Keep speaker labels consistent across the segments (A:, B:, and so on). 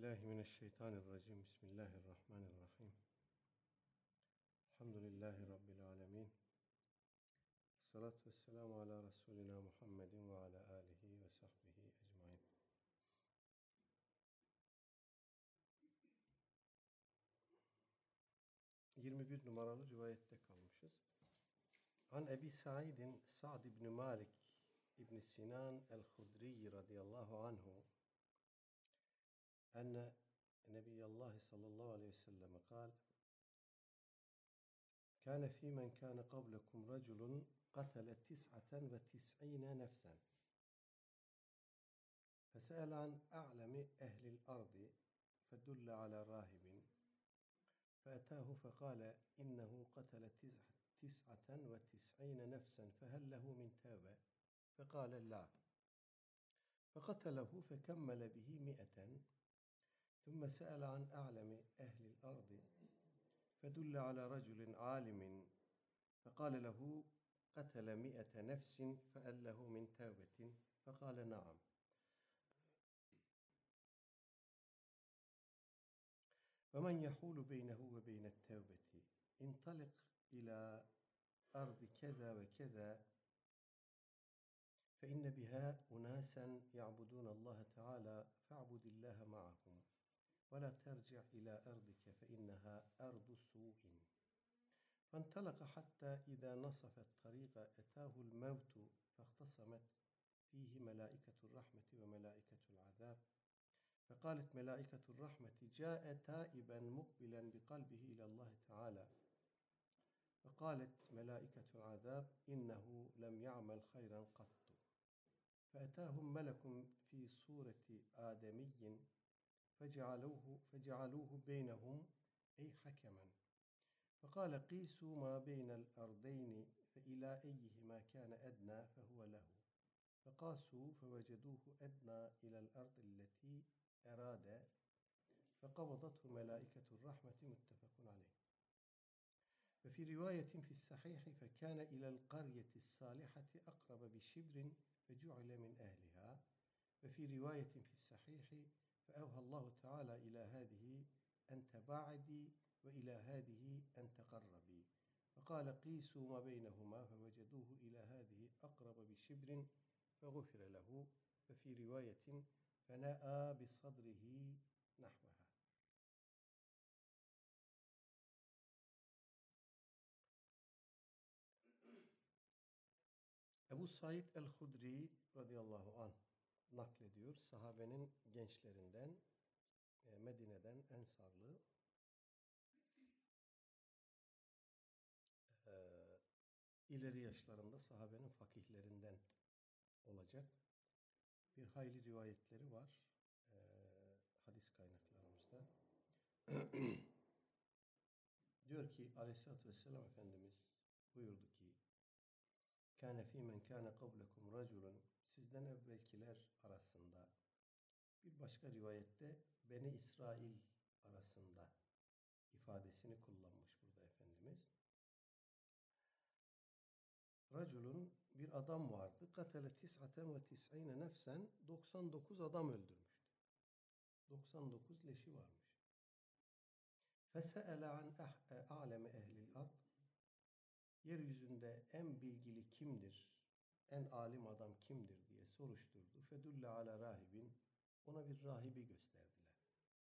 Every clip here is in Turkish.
A: Euzubillahimineşşeytanirracim. Bismillahirrahmanirrahim. Elhamdülillahi Rabbil alemin. Salatu vesselamu ala Resulina Muhammedin ve ala alihi ve sahbihi ecmain. ...21 numaralı rivayette kalmışız. An Ebi Sa'idin Sa'd ibn Malik ibn Sinan el-Hudri radıyallahu anhu enne Nebiyallahi sallallahu aleyhi ve sellem kal kâne fî men kâne qablekum raculun qatale 99 nefsen fesâle an a'lemi ehlil ardi fedulle ala rahibin فأتاه فقال إنه قتل 99 نفسا فهل له من توبة فقال لا فقتله فكمل به 100 ثم سأل عن أعلم أهل الأرض فدل على رجل عالم فقال له قتل 100 نفس فهل له من توبة فقال نعم ومن يحول بينه وبين التوبة انطلق إلى أرض كذا وكذا فإن بها أناسا يعبدون الله تعالى فاعبد الله معهم ولا ترجع إلى أرضك فإنها أرض سوء فانطلق حتى إذا نصف الطريق أتاه الموت فاختصمت فيه ملائكة الرحمة وملائكة العذاب فقالت ملائكة الرحمة جاء تائبا مقبلا بقلبه إلى الله تعالى فقالت ملائكة العذاب إنه لم يعمل خيرا قط فأتاهم ملك في صورة آدمي فجعلوه بينهم أي حكما فقال قيسوا ما بين الأرضين فإلى أيهما كان أدنى فهو له فقاسوا فوجدوه أدنى إلى الأرض التي أراد فقبضته ملائكة الرحمة متفق عليه وفي رواية في الصحيح فكان إلى القرية الصالحة أقرب بشبر فجعل من أهلها وفي رواية في الصحيح فأوحى الله تعالى إلى هذه أن تباعدي وإلى هذه أن تقربي فقال قيسوا ما بينهما فوجدوه إلى هذه أقرب بشبر فغفر له وفي رواية فنأى بصدره نحوها. Ebu Said el-Hudri radıyallahu anh naklediyor. Sahabenin gençlerinden, Medine'den Ensarlı, ileri yaşlarında sahabenin fakihlerinden olacak bir hayli rivayetleri var hadis kaynaklarımızda. Diyor ki Aleyhisselatü Vesselam Efendimiz buyurdu ki kâne fî men kâne qablekum raculun sizden evvelkiler arasında, bir başka rivayette Beni İsrail arasında ifadesini kullanmış burada Efendimiz. Raculun bir adam vardı. Katale 99 nefsen 99 adam öldürmüştü. 99 leşi varmış. Fese'ele an a'leme ehlil ard. Yeryüzünde en bilgili kimdir? En alim adam kimdir diye soruşturdu. Fedulle ala rahibin. Ona bir rahibi gösterdiler.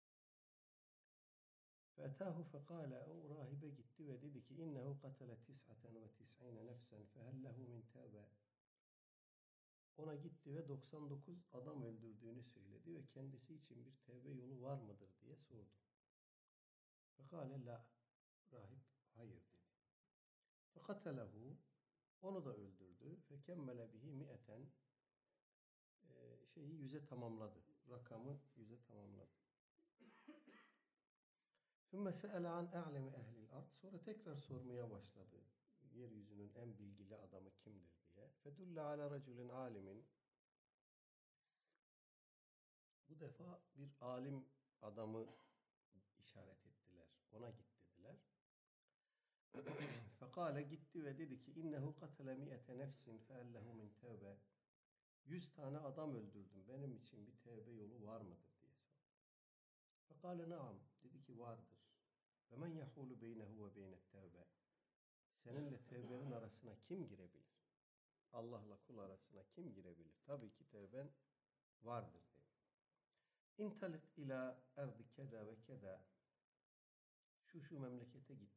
A: Fe'etahu fekale, o rahibe gitti ve dedi ki innehu katale 99 nefsen fehel lehu min tevbe. Ona gitti ve 99 adam öldürdüğünü söyledi ve kendisi için bir tevbe yolu var mıdır diye sordu. Fekale la, rahip hayır dedi. Fekatelehu, onu da öldürdü. Fekemmele bihi 100 100'e tamamladı. Rakamı 100'e tamamladı. Sümme se'ele an a'lemi ehlil ard. Sonra tekrar sormaya başladı. Yeryüzünün en bilgili adamı kimdir diye. Fedulle ala raculin alimin. Bu defa bir alim adamı işaret ettiler. Ona git dediler. Fekale gitti ve dedi ki innehu katale 100 nefsin feellehu min tevbe. 100 tane adam öldürdüm. Benim için bir tevbe yolu var mıdır diye sordu. Fekale naam. Dedi ki vardır. Ve men yahulu beynehu ve beynet tevbe. Seninle tevbenin arasına kim girebilir? Allah'la kul arasına kim girebilir? Tabii ki tevben vardır dedi. İntalik ila erdi keda ve keda. Şu memlekete git.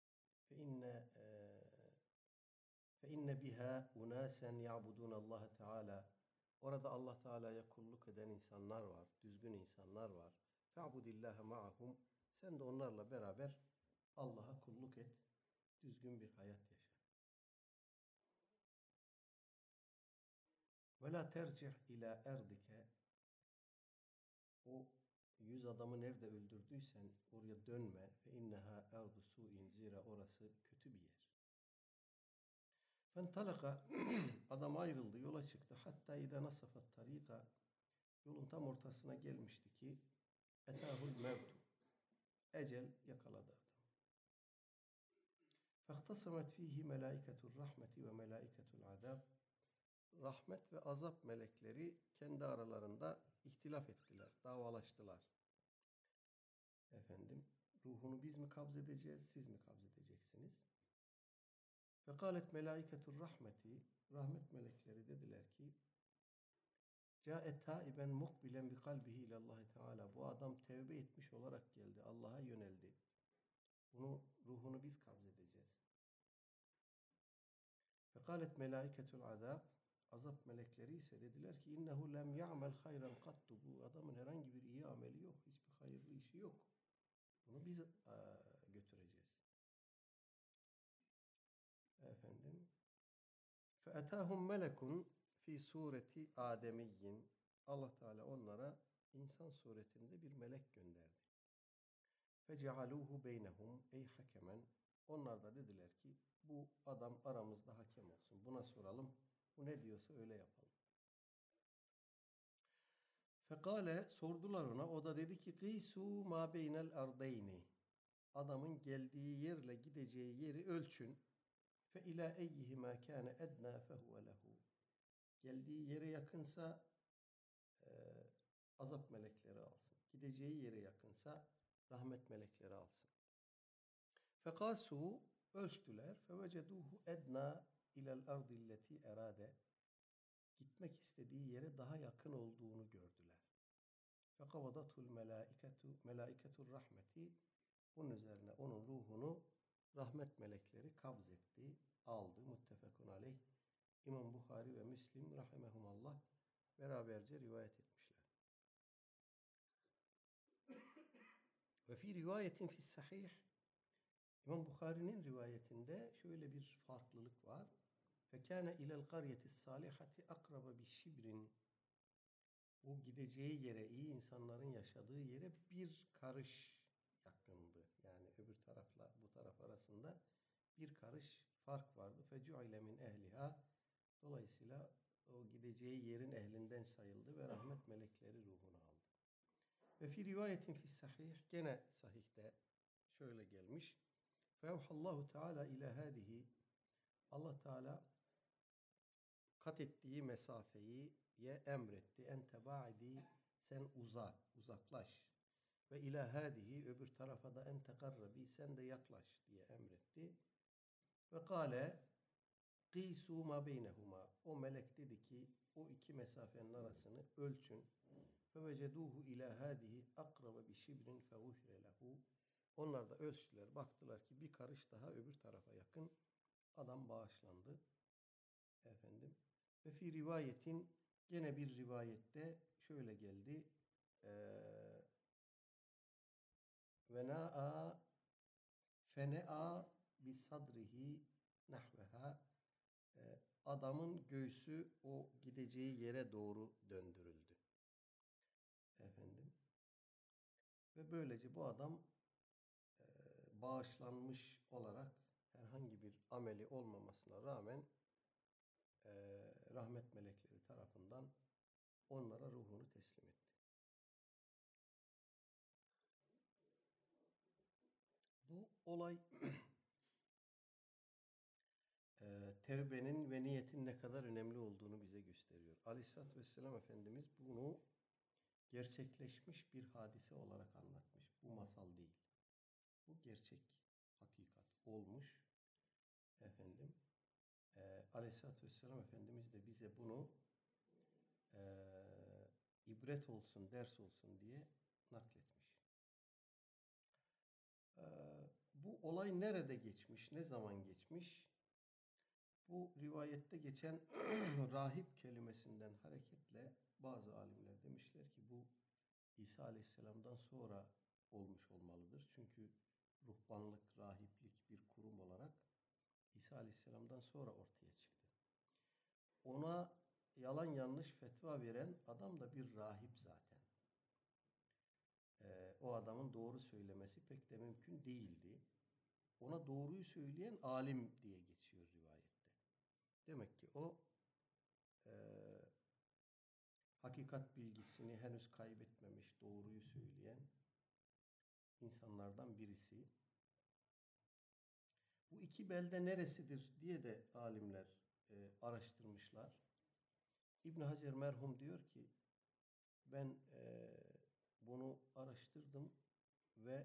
A: Fe inne biha unasen ya'budun Allah Teala. Orada Allah Teala'ya kulluk eden insanlar var, düzgün insanlar var. Fe'budillaha ma'ahum. Sen de onlarla beraber Allah'a kulluk et, düzgün bir hayat yaşa. Ve la tercih ila erdike. O 100 adamı nerede öldürdüysen oraya dönme. Fe inneha erdu su'in. Zira orası kötü bir yer. Fentalaka. Adam ayrıldı, yola çıktı. Hatta idâ nasafat tarika. Yolun tam ortasına gelmişti ki etâhul mevtu. Ecel yakaladı adam. Fehtasamet fihi melâiketur rahmeti ve melâiketul azab. Rahmet ve azap melekleri kendi aralarında ihtilaf ettiler, davalaştılar. Efendim, ruhunu biz mi kabz edeceğiz, siz mi kabz edeceksiniz? Fekalet melâiketur rahmeti. Rahmet melekleri dediler ki Câet tâiben mukbilen bi kalbihi ilallahi teâlâ. Bu adam tevbe etmiş olarak geldi. Allah'a yöneldi. Ruhunu biz kabz edeceğiz. Fekalet melâiketul azab. Azap melekleri ise dediler ki innehu lem ya'mel hayran kattu. Bu adamın herhangi bir iyi ameli yok. Hiçbir hayırlı işi yok. Bunu biz götüreceğiz. Efendim. Fe'etâhum melekun fi sureti ademiyyin. Allah Teala onlara insan suretinde bir melek gönderdi. Fecealuhu beynehum ey hakemen. Onlar da dediler ki bu adam aramızda hakem olsun. Buna soralım. Bu ne diyorsa öyle yapalım. Fekale sordular ona. O da dedi ki gîsû mâ beynel ardeyni. Adamın geldiği yerle gideceği yeri ölçün. Fe ilâ eyyihimâ kâne ednâ fehuve lehu. Geldiği yere yakınsa azap melekleri alsın. Gideceği yere yakınsa rahmet melekleri alsın. Fekâsû ölçtüler. Feveceduhu ednâ ilel ardilleti erade. Gitmek istediği yere daha yakın olduğunu gördüler. Fekavadatul melâiketur rahmeti. Bunun üzerine onun ruhunu rahmet melekleri kabz etti, aldı. Muttefekun aleyh. İmam Bukhari ve Müslim rahimehumallah beraberce rivayet etmişler. Ve fi rivayetin fi sahih. İmam Bukhari'nin rivayetinde şöyle bir farklılık var. Fekâne ilel qaryetis salihati akraba bi şibrin. O gideceği yere, iyi insanların yaşadığı yere bir karış yakındı. Yani öbür tarafla bu taraf arasında bir karış fark vardı. Fecu'ile min ehliha. Dolayısıyla o gideceği yerin ehlinden sayıldı ve rahmet melekleri ruhunu aldı. Ve fi rivayetin fi sahih. Gene sahihte şöyle gelmiş. Fevhallahu Teala ila hadihi. Allah Teala kat ettiği mesafeyi emretti. En tebaidi, sen uzaklaş. Ve ila hadihi, öbür tarafa da en tekarrabi, sen de yaklaş diye emretti. Ve kâle gîsû mâ beynehuma. O melek dedi ki o iki mesafenin arasını ölçün. Fevecedûhu ila hadihi akraba bi şibrin fevufre lehu. Onlar da ölçtüler. Baktılar ki bir karış daha öbür tarafa yakın. Adam bağışlandı. Efendim. Ve fi rivayetin, gene bir rivayette şöyle geldi. Ve na'a fene'a bi sadrihi nahveha. Adamın göğsü o gideceği yere doğru döndürüldü. Efendim. Ve böylece bu adam bağışlanmış olarak herhangi bir ameli olmamasına rağmen rahmet melekleri tarafından onlara ruhunu teslim etti. Bu olay tevbenin ve niyetin ne kadar önemli olduğunu bize gösteriyor. Aleyhisselatü Vesselam Efendimiz bunu gerçekleşmiş bir hadise olarak anlatmış. Bu masal değil. Bu gerçek, hakikat olmuş. Efendim, Aleyhisselatü Vesselam Efendimiz de bize bunu ibret olsun, ders olsun diye nakletmiş. Bu olay nerede geçmiş, ne zaman geçmiş? Bu rivayette geçen rahip kelimesinden hareketle bazı alimler demişler ki bu İsa Aleyhisselam'dan sonra olmuş olmalıdır. Çünkü ruhbanlık, rahiplik bir kurum olarak İsa Aleyhisselam'dan sonra ortaya çıktı. Ona yalan yanlış fetva veren adam da bir rahip zaten. O adamın doğru söylemesi pek de mümkün değildi. Ona doğruyu söyleyen alim diye geçiyor rivayette. Demek ki o hakikat bilgisini henüz kaybetmemiş, doğruyu söyleyen insanlardan birisi. Bu iki belde neresidir diye de alimler araştırmışlar. İbn Hacer merhum diyor ki ben bunu araştırdım ve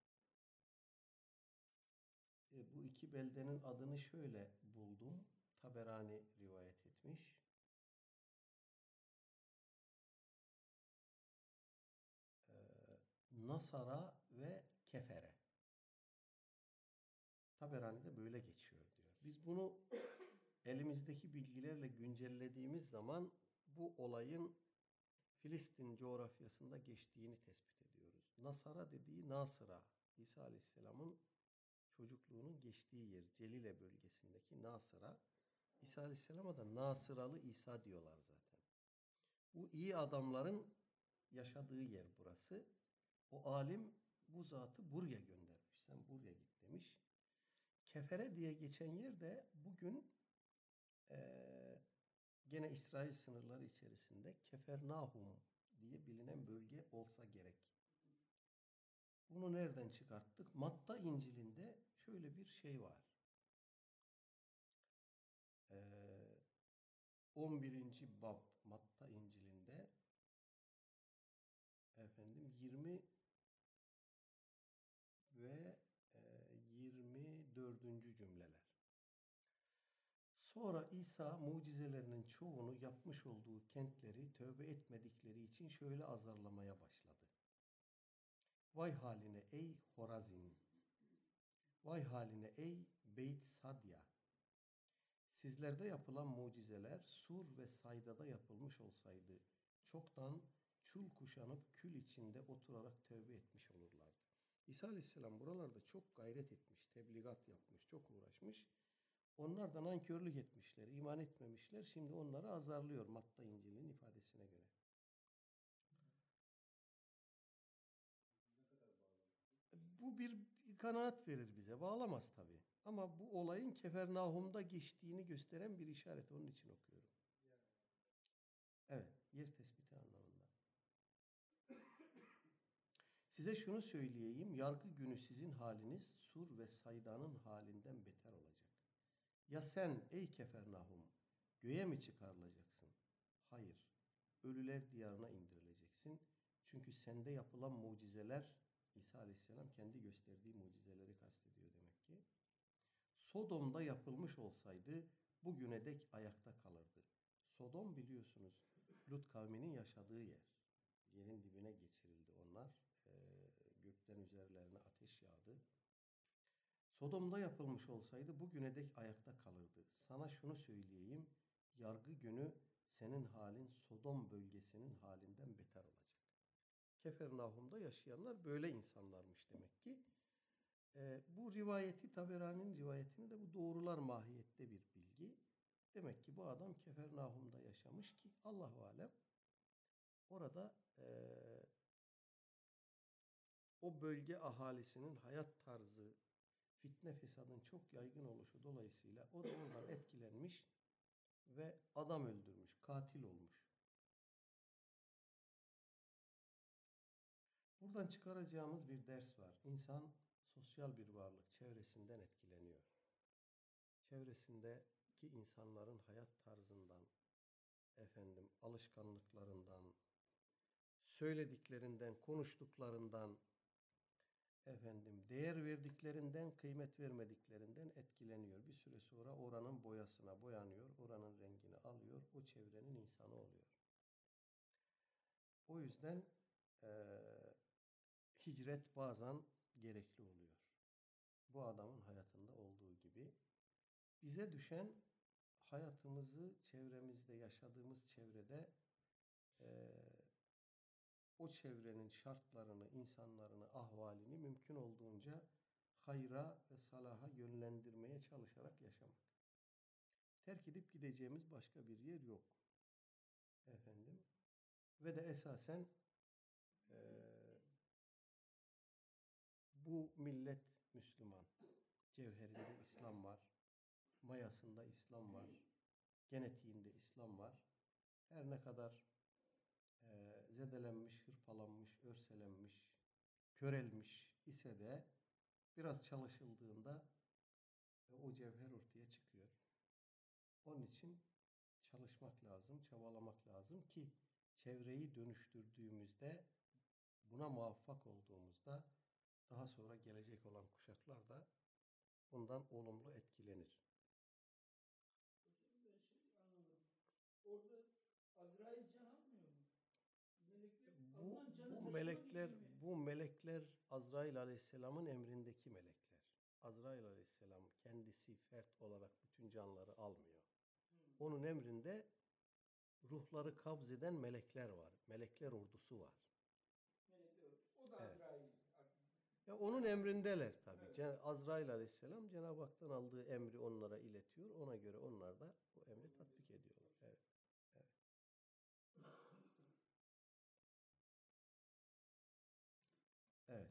A: bu iki beldenin adını şöyle buldum. Taberani rivayet etmiş. Nasara ve Kefere. Taberani'de böyle geçiyor diyor. Biz bunu elimizdeki bilgilerle güncellediğimiz zaman bu olayın Filistin coğrafyasında geçtiğini tespit ediyoruz. Nasara dediği Nasıra, İsa Aleyhisselam'ın çocukluğunun geçtiği yer, Celile bölgesindeki Nasıra. İsa Aleyhisselam'a da Nasıralı İsa diyorlar zaten. Bu iyi adamların yaşadığı yer burası. O alim bu zatı buraya göndermiş. Sen buraya git demiş. Kefere diye geçen yer de bugün gene İsrail sınırları içerisinde Kefernahum diye bilinen bölge olsa gerek. Bunu nereden çıkarttık? Matta İncil'inde şöyle bir şey var. 11. bab Matta İncil'inde 20 ve 24. cümleler. Sonra İsa mucizelerinin çoğunu yapmış olduğu kentleri tövbe etmedikleri için şöyle azarlamaya başladı. Vay haline ey Horazin! Vay haline ey Beyt Sadya! Sizlerde yapılan mucizeler Sur ve Sayda'da yapılmış olsaydı çoktan çul kuşanıp kül içinde oturarak tövbe etmiş olurlardı. İsa Aleyhisselam buralarda çok gayret etmiş, tebligat yapmış, çok uğraşmış. Onlar da nankörlük etmişler, iman etmemişler. Şimdi onları azarlıyor Matta İncil'in ifadesine göre. Bu bir kanaat verir bize. Bağlamaz tabii. Ama bu olayın Kefernahum'da geçtiğini gösteren bir işaret. Onun için okuyorum. Evet, yer tespiti anlamında. Size şunu söyleyeyim. Yargı günü sizin haliniz Sur ve Sayda'nın halinden beter olacak. Ya sen ey Kefernahum göğe mi çıkarılacaksın? Hayır. Ölüler diyarına indirileceksin. Çünkü sende yapılan mucizeler İsa Aleyhisselam kendi gösterdiği mucizeleri kastediyor demek ki. Sodom'da yapılmış olsaydı bugüne dek ayakta kalırdı. Sodom biliyorsunuz Lut kavminin yaşadığı yer. Yerin dibine geçirildi onlar. Gökten üzerlerine ateş yağdı. Sodom'da yapılmış olsaydı bugüne dek ayakta kalırdı. Sana şunu söyleyeyim, yargı günü senin halin Sodom bölgesinin halinden beter olacak. Kefernahum'da yaşayanlar böyle insanlarmış demek ki. Bu rivayeti, Taberani'nin rivayetini de bu doğrular mahiyette bir bilgi. Demek ki bu adam Kefernahum'da yaşamış ki Allahu alem orada o bölge ahalisinin hayat tarzı, fitne fesadın çok yaygın oluşu dolayısıyla o da oradan etkilenmiş ve adam öldürmüş, katil olmuş. Buradan çıkaracağımız bir ders var. İnsan sosyal bir varlık, çevresinden etkileniyor. Çevresindeki insanların hayat tarzından, alışkanlıklarından, söylediklerinden, konuştuklarından, değer verdiklerinden, kıymet vermediklerinden etkileniyor. Bir süre sonra oranın boyasına boyanıyor, oranın rengini alıyor, o çevrenin insanı oluyor. O yüzden hicret bazen gerekli oluyor. Bu adamın hayatında olduğu gibi. Bize düşen hayatımızı çevremizde, yaşadığımız çevrede o çevrenin şartlarını, insanlarını, ahvalini mümkün olduğunca hayra ve salaha yönlendirmeye çalışarak yaşamak. Terk edip gideceğimiz başka bir yer yok. Ve de esasen bu millet Müslüman. Cevherinde İslam var. Mayasında İslam var. Genetiğinde İslam var. Her ne kadar zedelenmiş, hırpalanmış, örselenmiş, körelmiş ise de biraz çalışıldığında o cevher ortaya çıkıyor. Onun için çalışmak lazım, çabalamak lazım ki çevreyi dönüştürdüğümüzde, buna muvaffak olduğumuzda daha sonra gelecek olan kuşaklar da bundan olumlu etkilenir.
B: Hocam ben anlamadım. Orada Azrail can almıyor mu?
A: Bu melekler Azrail Aleyhisselam'ın emrindeki melekler. Azrail Aleyhisselam kendisi fert olarak bütün canları almıyor. Onun emrinde ruhları kabz eden melekler var. Melekler ordusu var.
B: O da Azrail.
A: Ya onun emrindeler tabii. Evet. Azrail Aleyhisselam Cenab-ı Hak'tan aldığı emri onlara iletiyor. Ona göre onlar da o emri tatbik ediyorlar. Evet. Evet.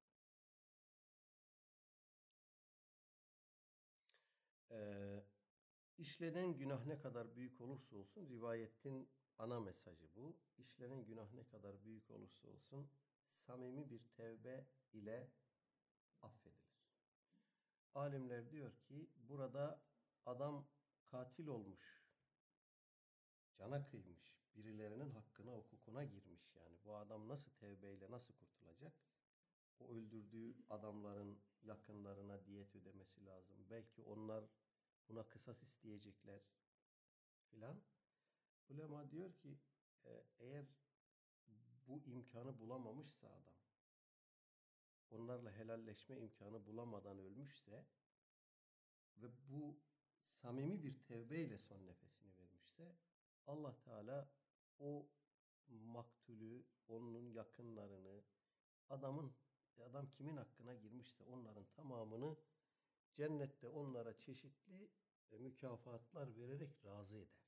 A: İşlenen günah ne kadar büyük olursa olsun, rivayetin ana mesajı bu. İşlenen günah ne kadar büyük olursa olsun samimi bir tevbe ile affedilir. Alimler diyor ki burada adam katil olmuş, cana kıymış, birilerinin hakkına, hukukuna girmiş yani. Bu adam nasıl tevbeyle nasıl kurtulacak? O öldürdüğü adamların yakınlarına diyet ödemesi lazım. Belki onlar buna kısas isteyecekler filan. Ulema diyor ki eğer bu imkanı bulamamışsa adam, onlarla helalleşme imkanı bulamadan ölmüşse ve bu samimi bir tevbeyle son nefesini vermişse, Allah Teala o maktulü, onun yakınlarını, adam kimin hakkına girmişse onların tamamını cennette onlara çeşitli mükafatlar vererek razı eder.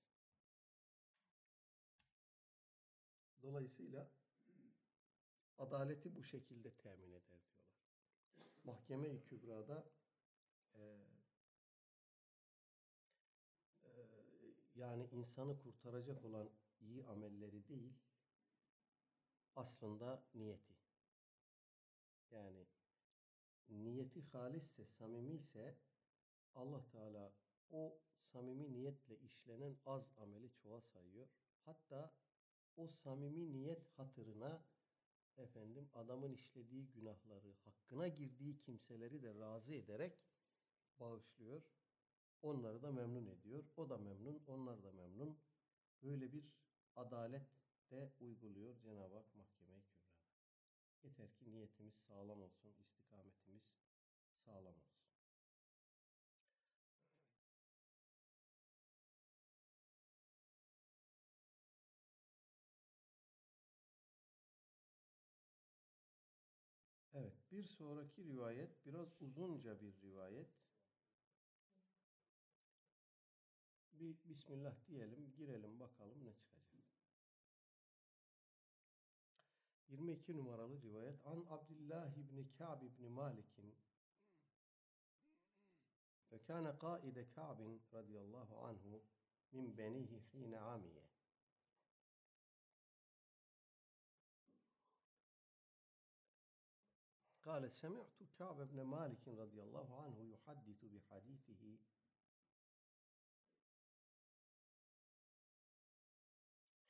A: Dolayısıyla adaleti bu şekilde temin eder diyorlar. Mahkeme-i Kübra'da yani insanı kurtaracak olan iyi amelleri değil, aslında niyeti. Yani niyeti halisse, samimi ise Allah Teala o samimi niyetle işlenen az ameli çoğa sayıyor. Hatta o samimi niyet hatırına adamın işlediği günahları, hakkına girdiği kimseleri de razı ederek bağışlıyor. Onları da memnun ediyor. O da memnun, onlar da memnun. Böyle bir adalet de uyguluyor Cenab-ı Hak Mahkeme-i Kübra'da. Yeter ki niyetimiz sağlam olsun, istikametimiz sağlam olsun. Evet, bir sonraki rivayet biraz uzunca bir rivayet. Bir Bismillah diyelim, girelim bakalım ne çıkacak. 22 numaralı rivayet. An Abdullah ibn Ka'b ibn Malik'in ve kana qaide Ka'b radıyallahu anhu min benihi hine amiye. قال سمعت كعب بن مالك رضي الله عنه يحدث بحديثه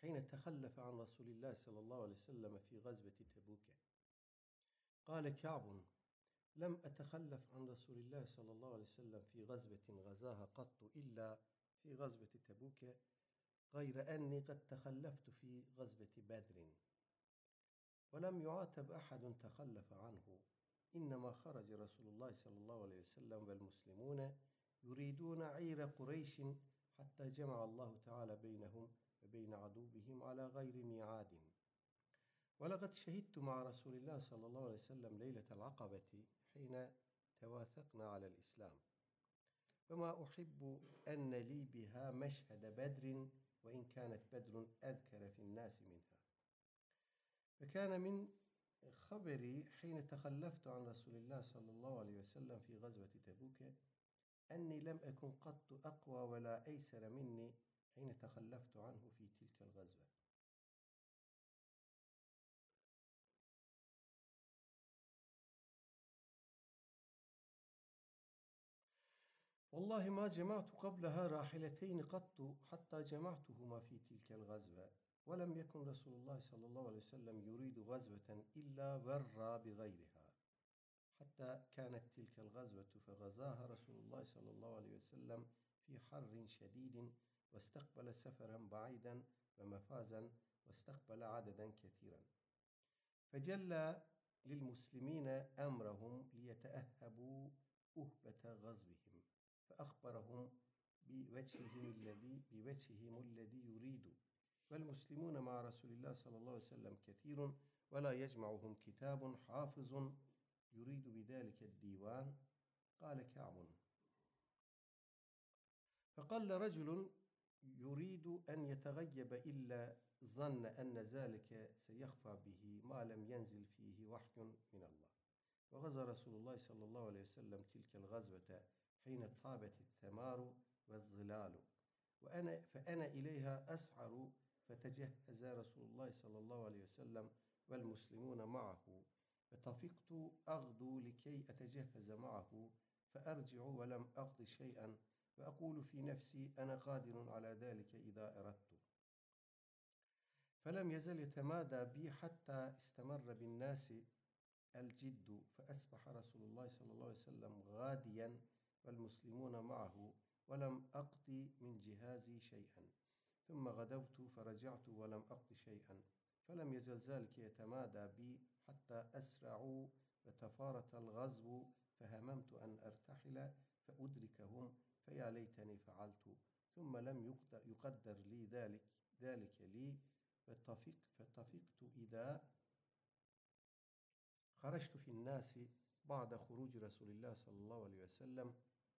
A: حين تخلف عن رسول الله صلى الله عليه وسلم في غزوة تبوك. قال كعب: لم أتخلف عن رسول الله صلى الله عليه وسلم في غزوة غزاها قط إلا في غزوة تبوك، غير أني قد تخلفت في غزوة بدر، ولم يعاتب أحد تخلف عنه، إنما خرج رسول الله صلى الله عليه وسلم والمسلمون يريدون عير قريش حتى جمع الله تعالى بينهم وبين عدوهم على غير ميعاد. ولقد شهدت مع رسول الله صلى الله عليه وسلم ليلة العقبة حين تواثقنا على الإسلام، وما أحب أن لي بها مشهد بدر، وإن كانت بدر أذكر في الناس منها. فكان من خبري حين تخلفت عن رسول الله صلى الله عليه وسلم في غزوة تبوك أني لم أكن قط أقوى ولا أيسر مني حين تخلفت عنه في تلك الغزوة. والله ما جمعت قبلها راحلتين قط حتى جمعتهما في تلك الغزوة، ولم يكن رسول الله صلى الله عليه وسلم يريد غزوة إلا ورى بغيرها، حتى كانت تلك الغزوة فغزاها رسول الله صلى الله عليه وسلم في حر شديد، واستقبل سفرا بعيدا ومفازا، واستقبل عددا كثيرا، فجلى للمسلمين أمرهم ليتأهبوا أهبة غزوهم، فأخبرهم بوجههم الذي يريد، والمسلمون مع رسول الله صلى الله عليه وسلم كثير، ولا يجمعهم كتاب حافظ يريد بذلك الديوان. قال كعب: فقال رجل يريد أن يتغيب إلا ظن أن ذلك سيخفى به ما لم ينزل فيه وحي من الله. وغزا رسول الله صلى الله عليه وسلم تلك الغزوة حين طابت الثمار والظلال، فأنا إليها أسعر، فتجهز رسول الله صلى الله عليه وسلم والمسلمون معه، فطفقت أغدو لكي أتجهز معه، فأرجع ولم أقض شيئا، وأقول في نفسي أنا قادر على ذلك إذا أردت. فلم يزل يتمادى بي حتى استمر بالناس الجد، فأصبح رسول الله صلى الله عليه وسلم غاديا والمسلمون معه، ولم أقض من جهازي شيئا، ثم غدوت فرجعت ولم أقض شيئا، فلم يزل ذلك يتمادى بي حتى أسرعوا وتفارت الغزو، فهممت أن أرتحل فأدركهم، فيا ليتني فعلت، ثم لم يقدر لي ذلك لي، فطفقت إذا خرجت في الناس بعد خروج رسول الله صلى الله عليه وسلم،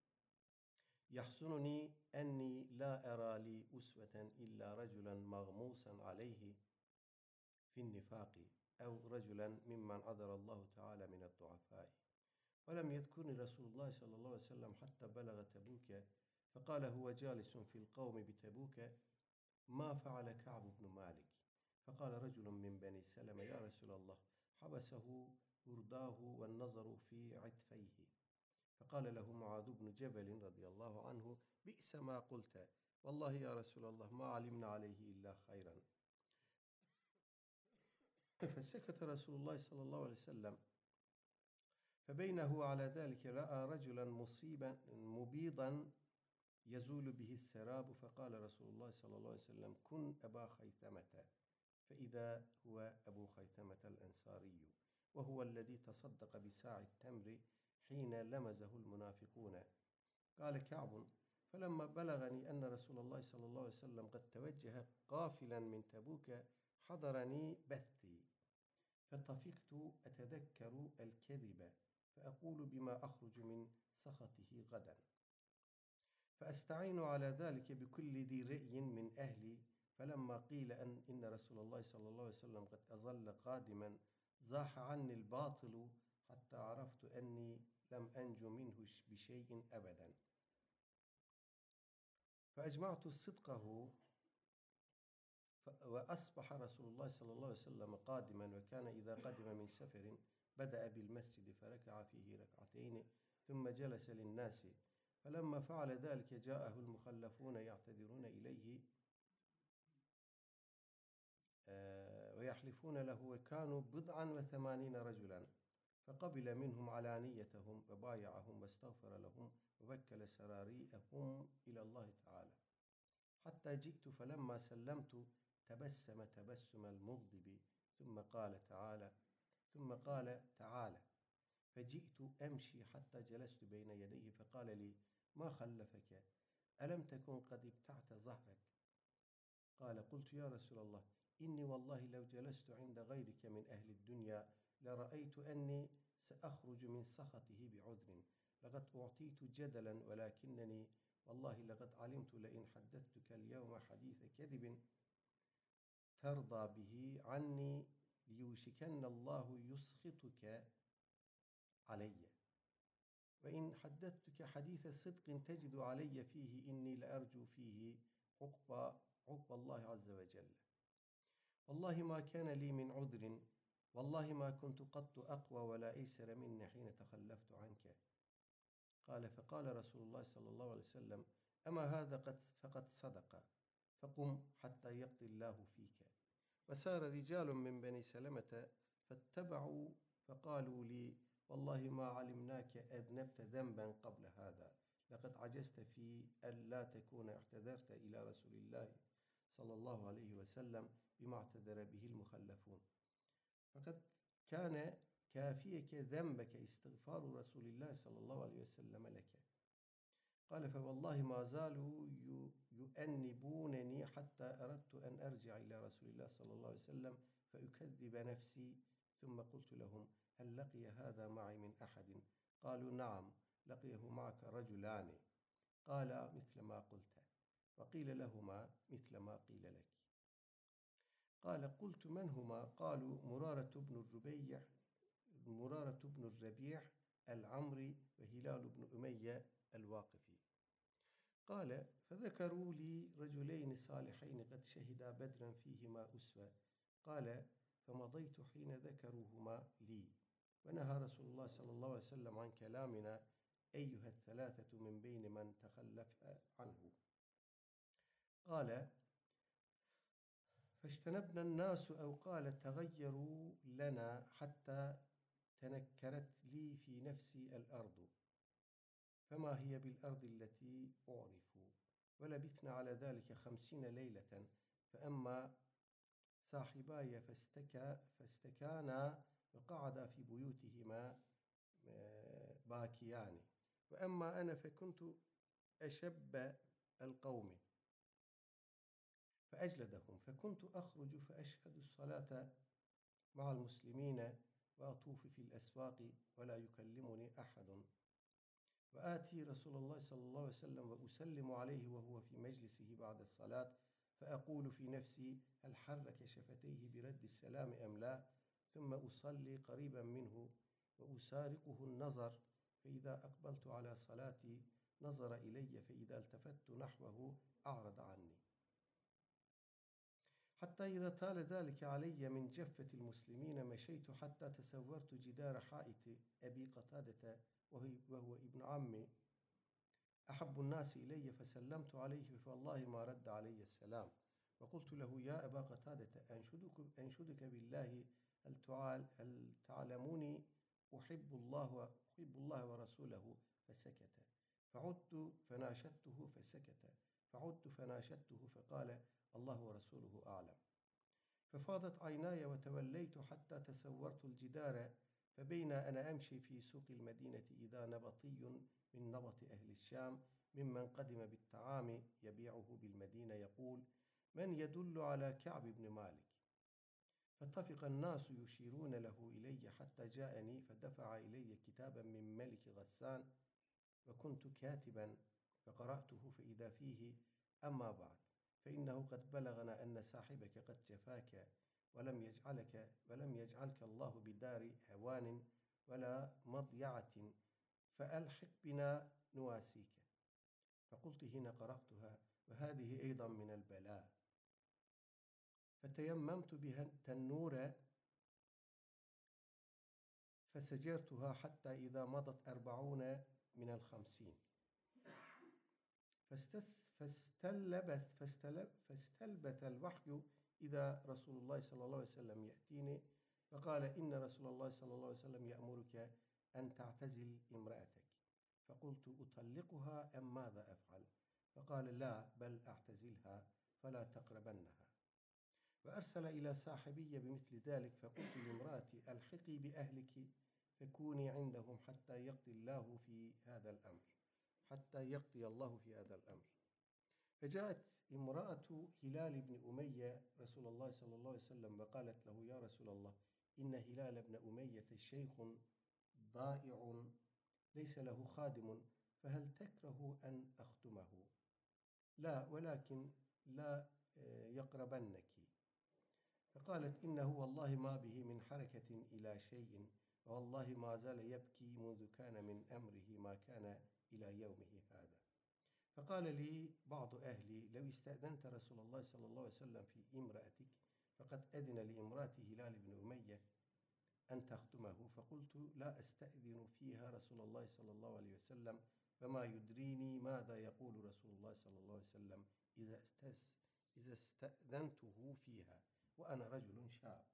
A: يحزنني أني لا أرى لي أسوة إلا رجلا مغموسا عليه في النفاق، أو رجلا ممن عذر الله تعالى من الضعفاء. ولم يذكرني رسول الله صلى الله عليه وسلم حتى بلغ تبوك، فقال هو جالس في القوم بتبوك: ما فعل كعب بن مالك؟ فقال رجل من بني سلمة: يا رسول الله، حبسه برداه والنظر في عتفيه. فقال له معاذ بن جبل رضي الله عنه: بئس ما قلت، والله يا رسول الله ما علمنا عليه إلا خيرا. فسكت رسول الله صلى الله عليه وسلم، فبينه على ذلك رأى رجلا مبيضا يزول به السراب، فقال رسول الله صلى الله عليه وسلم: كن أبا خيثمة، فإذا هو أبو خيثمة الأنصاري، وهو الذي تصدق بساع التمر حين لمزه المنافقون. قال كعب: فلما بلغني أن رسول الله صلى الله عليه وسلم قد توجه قافلا من تبوك حضرني بثي، فطفقت أتذكر الكذب، فأقول بما أخرج من سخطه غدا، فأستعين على ذلك بكل ذي رأي من أهلي. فلما قيل إن رسول الله صلى الله عليه وسلم قد أظل قادما، زاح عني الباطل حتى عرفت أني لم أنج منه بشيء أبدا، فأجمعت صدقه، وأصبح رسول الله صلى الله عليه وسلم قادما، وكان إذا قدم من سفر بدأ بالمسجد فركع فيه ركعتين ثم جلس للناس، فلما فعل ذلك جاءه المخلفون يعتذرون إليه ويحلفون له، وكانوا 89 رجلا، فقبل منهم علانيتهم وبايعهم واستغفر لهم ووكل سراريئهم إلى الله تعالى، حتى جئت فلما سلمت تبسم تبسم المغضب ثم قال تعالى، فجئت أمشي حتى جلست بين يديه فقال لي: ما خلفك؟ ألم تكن قد ابتعت ظهرك؟ قال: قلت: يا رسول الله، إني والله لو جلست عند غيرك من أهل الدنيا لرأيت أني سأخرج من سخطه بعذر، لقد أعطيت جدلا، ولكنني والله لقد علمت لئن حدثتك اليوم حديث كذب ترضى به عني ليوشكن الله يسخطك علي، وإن حدثتك حديث صدق تجد علي فيه إني لأرجو فيه عقب الله عز وجل. والله ما كان لي من عذر، والله ما كنت قط أقوى ولا أيسر مني حين تخلفت عنك. قال: فقال رسول الله صلى الله عليه وسلم: أما هذا فقد صدق، فقم حتى يقضي الله فيك. وسار رجال من بني سلمة فاتبعوا فقالوا لي: والله ما علمناك أذنبت ذنبا قبل هذا، لقد عجزت في أن لا تكون اعتذرت إلى رسول الله صلى الله عليه وسلم بما اعتذر به المخلفون، فقد كان كافيك ذنبك استغفار رسول الله صلى الله عليه وسلم لك. قال: فوالله ما زالوا يؤنبونني حتى أردت أن أرجع إلى رسول الله صلى الله عليه وسلم فأكذب نفسي، ثم قلت لهم: هل لقي هذا معي من أحد؟ قالوا: نعم، لقيه معك رجلان. قال: مثل ما قلت. وقيل لهما مثل ما قيل لك. قال: قلت: من هما؟ قالوا: مرارة بن الربيع العمري وهلال بن أمية الواقفي. قال: فذكروا لي رجلين صالحين قد شهدا بدرا فيهما أسوة. قال: فمضيت حين ذكروهما لي، ونهى رسول الله صلى الله عليه وسلم عن كلامنا أيها الثلاثة من بين من تخلف عنه. قال: فاجتنبنا الناس، أو قال تغيروا لنا، حتى تنكرت لي في نفسي الأرض، فما هي بالأرض التي أعرف. ولبثنا على ذلك 50 ليلة، فأما صاحباي فاستكانا وقعدا في بيوتهما باكيان، وأما أنا فكنت أشب القوم فأجلدهم، فكنت أخرج فأشهد الصلاة مع المسلمين وأطوف في الأسواق ولا يكلمني أحد، وآتي رسول الله صلى الله عليه وسلم وأسلم عليه وهو في مجلسه بعد الصلاة، فأقول في نفسي: هل حرك شفتيه برد السلام أم لا؟ ثم أصلي قريبا منه وأسارقه النظر، فإذا أقبلت على صلاتي نظر إلي، فإذا التفت نحوه أعرض عني، حتى إذا طال ذلك علي من جفة المسلمين مشيت حتى تسورت جدار حائط أبي قتادة وهو ابن عمي أحب الناس إلي، فسلمت عليه، فوالله ما رد علي السلام. وقلت له: يا أبا قتادة، أنشدك بالله، هل تعلموني أحب الله ورسوله؟ فسكت. فعدت فناشدته فسكت. فعدت فناشدته فقال: الله ورسوله أعلم. ففاضت عيناي وتوليت حتى تسورت الجدار، فبين أنا أمشي في سوق المدينة إذا نبطي من نبط أهل الشام ممن قدم بالطعام يبيعه بالمدينة يقول: من يدل على كعب بن مالك؟ فاتفق الناس يشيرون له إلي حتى جاءني، فدفع إلي كتابا من ملك غسان، وكنت كاتبا، فقرأته فإذا فيه: أما بعد، فإنه قد بلغنا أن صاحبك قد جفاك ولم يجعلك الله بدار هوان ولا مضيعة، فألحق بنا نواسيك. فقلت حين قرأتها: وهذه أيضا من البلاء. فتيممت بها التنور فسجرتها حتى إذا مضت 40 من 50، فاستلبث الوحي إذا رسول الله صلى الله عليه وسلم يأتيني فقال إن رسول الله صلى الله عليه وسلم يأمرك أن تعتزل امرأتك. فقلت أطلقها أم ماذا أفعل؟ فقال لا بل أعتزلها فلا تقربنها. وأرسل إلى صاحبي بمثل ذلك، فقلت لامرأتي ألحقي بأهلك فكوني عندهم حتى يقضي الله في هذا الأمر. فجاءت امرأة هلال بن أمية رسول الله صلى الله عليه وسلم وقالت له يا رسول الله إن هلال بن أمية شيخ ضائع ليس له خادم، فهل تكره أن أخدمه؟ لا ولكن لا يقربنك. فقالت إنه والله ما به من حركة إلى شيء، والله ما زال يبكي منذ كان من أمره ما كان إلى يومه هذا. فقال لي بعض أهلي لو استأذنت رسول الله صلى الله عليه وسلم في امرأتك فقد أذن لامرأة هلال بن أمية أن تخدمه. فقلت لا أستأذن فيها رسول الله صلى الله عليه وسلم، فما يدريني ماذا يقول رسول الله صلى الله عليه وسلم إذا استأذنته فيها وأنا رجل شاب.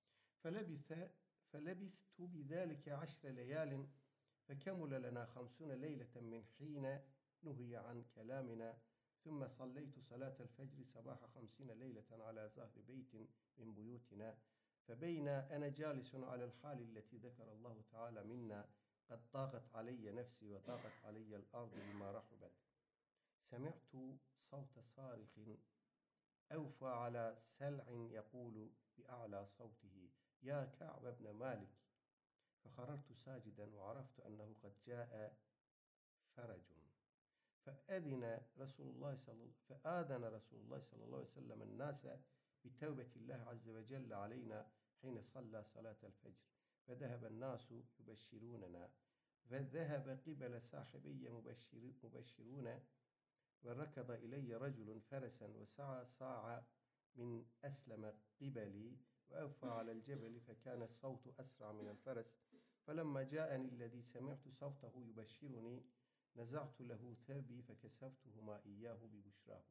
A: فلبثت بذلك 10 ليال، فكمل لنا 50 ليلة من حين نهي عن كلامنا، ثم صليت صلاة الفجر صباح 50 ليلة على ظهر بيت من بيوتنا. فبين أنا جالس على الحال التي ذكر الله تعالى منا قد ضاقت علي نفسي وضاقت علي الأرض بما رحبت، سمعت صوت صارخ أوفى على سلع يقول بأعلى صوته يا كعب بن مالك، فخررت ساجدا وعرفت أنه قد جاء فرج. فآذن رسول الله صلى الله عليه وسلم الناس بتوبة الله عز وجل علينا حين صلى صلاة الفجر، فذهب الناس يبشروننا، فذهب قبل صاحبي مبشرون، وركض إلي رجل فرسا وسعى صاع من أسلم قبلي وأوفى على الجبل، فكان الصوت أسرع من الفرس. فلما جاءني الذي سمعت صوته يبشرني نزعت له ثوبي فكسوتهما إياه ببشراه،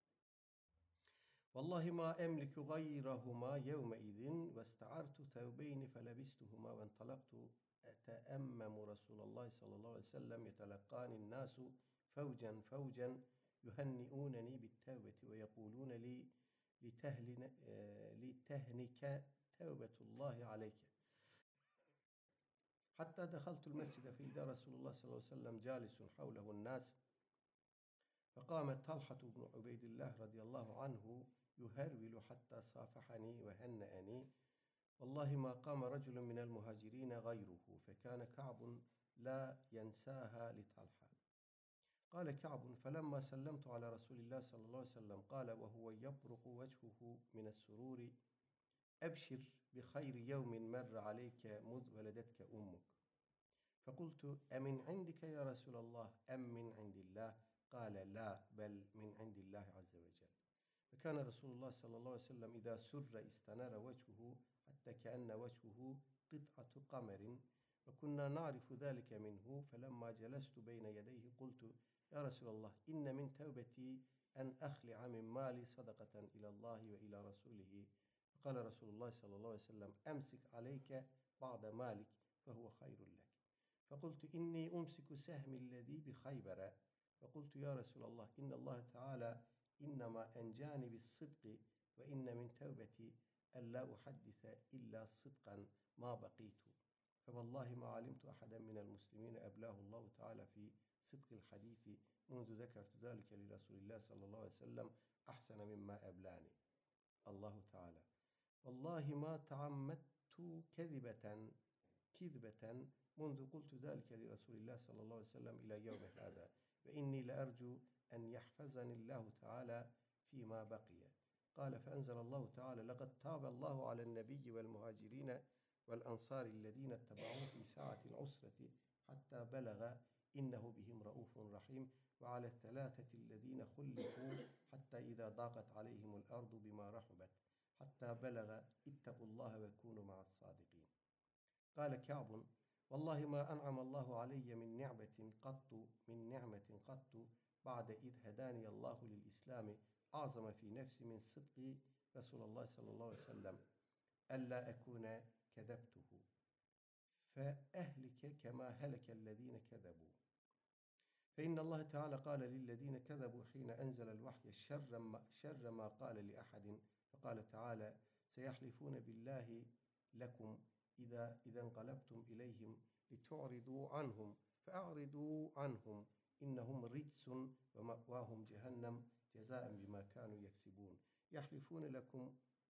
A: والله ما أملك غيرهما يومئذ، واستعرت ثوبين فلبستهما وانطلقت أتأمم رسول الله صلى الله عليه وسلم، يتلقاني الناس فوجا فوجا يهنئونني بالتوبة ويقولون لي لتهنك توبة الله عليك، حتى دخلت المسجد فإذا رسول الله صلى الله عليه وسلم جالس حوله الناس، فقام طلحة بن عبيد الله رضي الله عنه يهرول حتى صافحني وهنأني، والله ما قام رجل من المهاجرين غيره، فكان كعب لا ينساها لطلحة. قال كعب فلما سلمت على رسول الله صلى الله عليه وسلم قال وهو يبرق وجهه من السرور أبشر بخير يوم مر عليك مذ ولدتك أمك. فقلت أمن عندك يا رسول الله أم من عند الله؟ قال لا بل من عند الله عز وجل. فكان رسول الله صلى الله عليه وسلم إذا سر استنار وجهه حتى كأن وجهه قطعة قمر، وكنا نعرف ذلك منه. فلما جلست بين يديه قلت يا رسول الله إن من توبتي أن أخلع من مالي صدقة إلى الله وإلى رسوله. فقال رسول الله صلى الله عليه وسلم أمسك عليك بعض مالك فهو خير لك. فقلت إني أمسك سهمي الذي بخيبر. فقلت يا رسول الله إن الله تعالى إنما أنجاني بالصدق، وإن من توبتي ألا أحدث إلا صدقا ما بقيت، فوالله ما علمت أحدا من المسلمين أبلاه الله تعالى في صدق الحديث منذ ذكرت ذلك لرسول الله صلى الله عليه وسلم أحسن مما أبلاني الله تعالى. والله ما تعمدت كذبة منذ قلت ذلك لرسول الله صلى الله عليه وسلم إلى يوم هذا، وإني لأرجو أن يحفظني الله تعالى فيما بقي. قال فأنزل الله تعالى لقد تاب الله على النبي والمهاجرين والأنصار الذين اتبعوه في ساعة العسرة حتى بلغ إنه بهم رؤوف رحيم، وعلى الثلاثة الذين خلفوا حتى إذا ضاقت عليهم الأرض بما رحبت حتى بلغ اتقوا الله وكونوا مع الصادقين. قال كعب والله ما أنعم الله علي من نعمة قط بعد إذ هداني الله للإسلام أعظم في نفسي من صدق Resulullah sallallahu aleyhi ve sellem ella ekune kedebtuhu fe ehlike kema helekellezine kezebu. فإن الله تعالى قال للذين كذبوا حين أنزل الوحي شر ما قال لأحد فقال تعالى سيحلفون بالله لكم إذا انقلبتم إليهم لتعرضوا عنهم فأعرضوا عنهم إنهم رجس ومأواهم جهنم جزاء بما كانوا يكسبون يحلفون لكم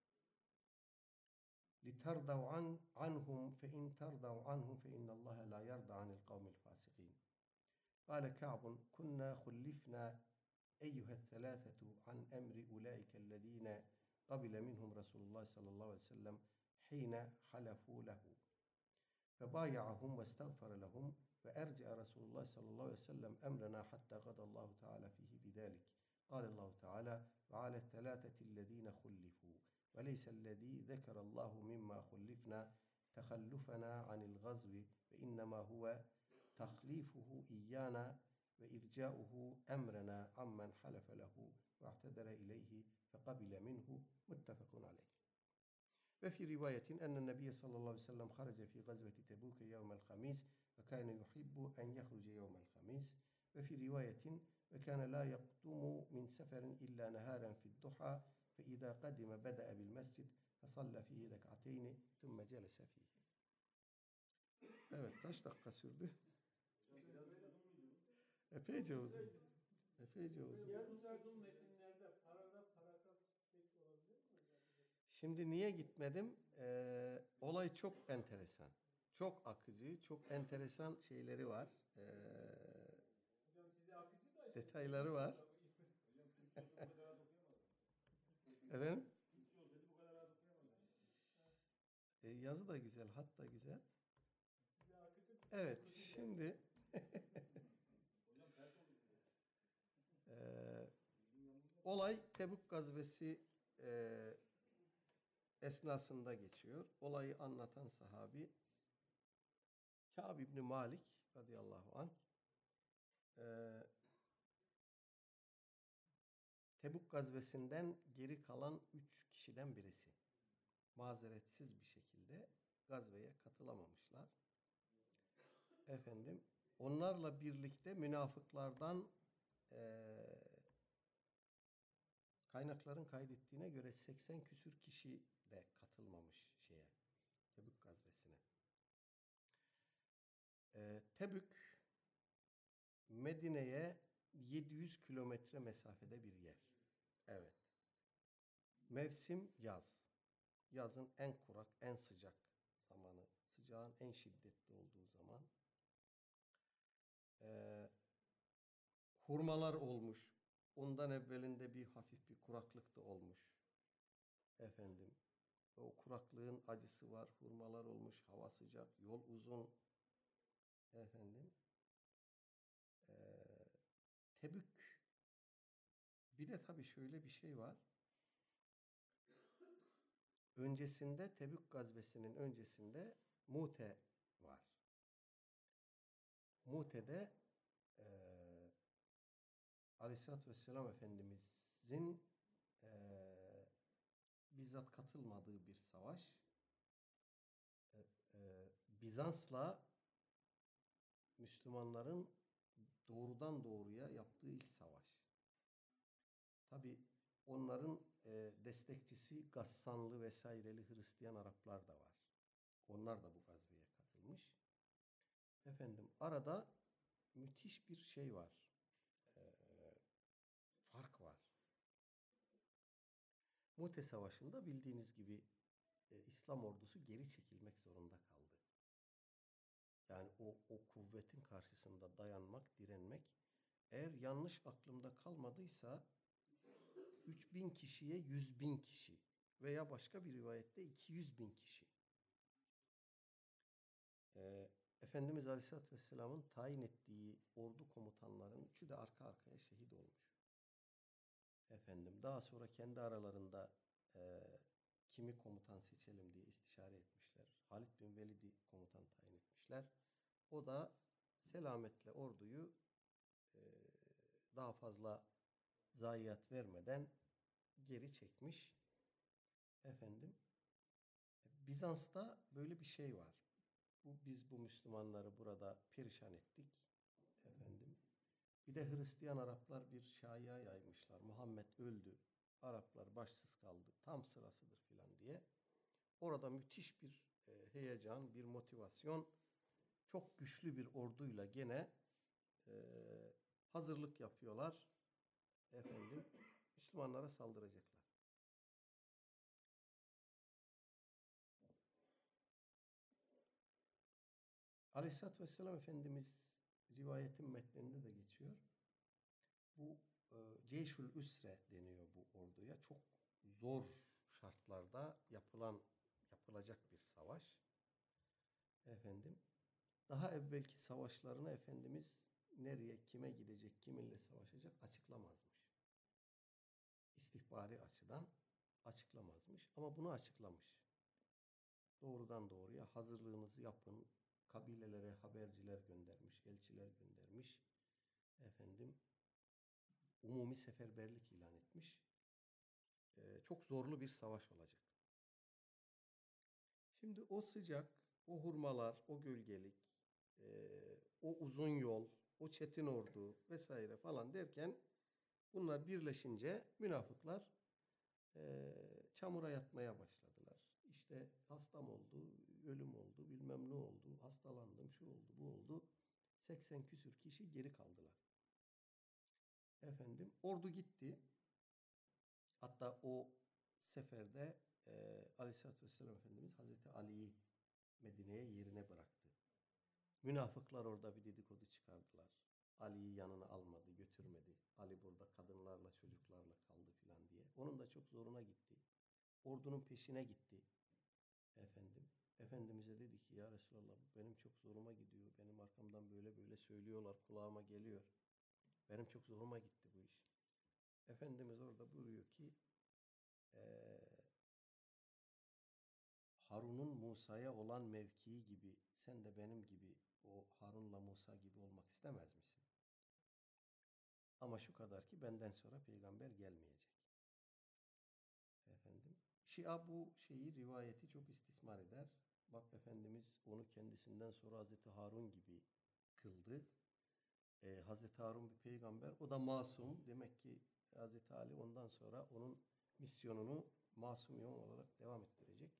A: لترضوا عنهم فإن ترضوا عنهم فإن الله لا يرضى عن القوم الفاسقين. قال كعب كنا خلفنا أيها الثلاثة عن أمر أولئك الذين قبل منهم رسول الله صلى الله عليه وسلم حين حلفوا له فبايعهم واستغفر لهم فأرجع رسول الله صلى الله عليه وسلم أمرنا حتى قضى الله تعالى فيه بذلك. قال الله تعالى وعلى الثلاثة الذين خلفوا وليس الذي ذكر الله مما خلفنا تخلفنا عن الغزو فإنما هو تخليفه إيانا وإرجاؤه أمرنا عمن حلف له واعتذر إليه فقبل منه متفق عليه. وفي رواية أن النبي صلى الله عليه وسلم خرج في غزوة تبوك يوم الخميس وكان يحب أن يخرج يوم الخميس. وفي رواية وكان لا يقدم من سفر إلا نهارا في الضحى فإذا قدم بدأ بالمسجد فصلى فيه ركعتين ثم جلس فيه. Evet, kaç dakika sürdü? Epeyce uzun. Epeyce uzun.
B: Yarım metinlerde paragraf çizsek olabilir mi hocam?
A: Şimdi niye gitmedim? Olay çok enteresan. Çok akıcı, çok enteresan şeyleri var.
B: Hocam size akıcı da
A: Detayları var. Efendim? Yazı da güzel, hat da güzel.
B: size akıcı.
A: Evet, şimdi olay Tebük gazvesi esnasında geçiyor. Olayı anlatan sahabi Kâb İbni Malik radıyallahu anh Tebük gazvesinden geri kalan 3 kişiden birisi. Mazeretsiz bir şekilde gazveye katılamamışlar. Efendim, onlarla birlikte münafıklardan kaynakların kaydettiğine göre 80 küsür kişi de katılmamış Tebük gazvesine. Tebük Medine'ye 700 kilometre mesafede bir yer. Evet. Mevsim yaz. Yazın en kurak, en sıcak zamanı. Sıcağın en şiddetli olduğu zaman. Hurmalar olmuş. Ondan evvelinde bir hafif bir kuraklık da olmuş. Efendim. O kuraklığın acısı var. Hurmalar olmuş. Hava sıcak. Yol uzun. Efendim. Tebük. Bir de tabii şöyle bir şey var. Öncesinde Tebük gazvesinin öncesinde Mute var. Mute'de Aleyhisselatü Vesselam Efendimizin bizzat katılmadığı bir savaş. Bizans'la Müslümanların doğrudan doğruya yaptığı ilk savaş. Tabi onların destekçisi Gassanlı vesaireli Hristiyan Araplar da var. Onlar da bu gazveye katılmış. Efendim arada müthiş bir şey var. Fark var. Mute Savaşı'nda bildiğiniz gibi İslam ordusu geri çekilmek zorunda kaldı. Yani o kuvvetin karşısında dayanmak, direnmek. Eğer yanlış aklımda kalmadıysa 3000 kişiye 100.000 kişi veya başka bir rivayette 200.000 kişi. Efendimiz Aleyhisselatü Vesselam'ın tayin ettiği ordu komutanlarının üçü de arka arkaya şehit olmuş. Efendim daha sonra kendi aralarında kimi komutan seçelim diye istişare etmişler. Halid bin Velid'i komutan tayin etmişler. O da selametle orduyu daha fazla zayiat vermeden geri çekmiş. Efendim, Bizans'ta böyle bir şey var. Biz bu Müslümanları burada perişan ettik. Efendim, bir de Hristiyan Araplar bir şaya yaymışlar. Muhammed öldü. Araplar başsız kaldı. Tam sırasıdır filan diye. Orada müthiş bir heyecan, bir motivasyon, çok güçlü bir orduyla gene e, hazırlık yapıyorlar. Efendim, Müslümanlara saldıracaklar. Aleyhisselatü Vesselam Efendimiz rivayetin metninde de geçiyor. Bu Ceyşül Üsre deniyor bu orduya. Çok zor şartlarda yapılacak bir savaş. Efendim, daha evvelki savaşlarını Efendimiz nereye, kime gidecek, kiminle savaşacak açıklamazmış. İstihbari açıdan açıklamazmış ama bunu açıklamış. Doğrudan doğruya hazırlığınızı yapın, kabilelere haberciler göndermiş, elçiler göndermiş. Efendim, umumi seferberlik ilan etmiş. Çok zorlu bir savaş olacak. Şimdi o sıcak, o hurmalar, o gölgelik, o uzun yol, o çetin ordu vesaire falan derken bunlar birleşince münafıklar çamura yatmaya başladılar. İşte hastam oldu, ölüm oldu, bilmem ne oldu, hastalandım, şu oldu, bu oldu. 80 küsür kişi geri kaldılar. Efendim, ordu gitti. Hatta o seferde Aleyhisselatü Vesselam Efendimiz Hazreti Ali'yi Medine'ye yerine bıraktı. Münafıklar orada bir dedikodu çıkardılar. Ali'yi yanına almadı, götürmedi. Ali burada kadınlarla, çocuklarla kaldı filan diye. Onun da çok zoruna gitti. Ordunun peşine gitti. Efendim, Efendimiz'e dedi ki ya Resulallah benim çok zoruma gidiyor. Benim arkamdan böyle böyle söylüyorlar, kulağıma geliyor. Benim çok zoruma gitti bu iş. Efendimiz orada buyuruyor ki Harun'un Musa'ya olan mevkii gibi sen de benim gibi o Harun'la Musa gibi olmak istemez misin? Ama şu kadar ki benden sonra peygamber gelmeyecek. Efendim, Şia bu rivayeti çok istismar eder. Bak Efendimiz onu kendisinden sonra Hazreti Harun gibi kıldı. Hazreti Harun bir peygamber, o da masum. Demek ki Hazreti Ali ondan sonra onun misyonunu masum imam olarak devam ettirecek.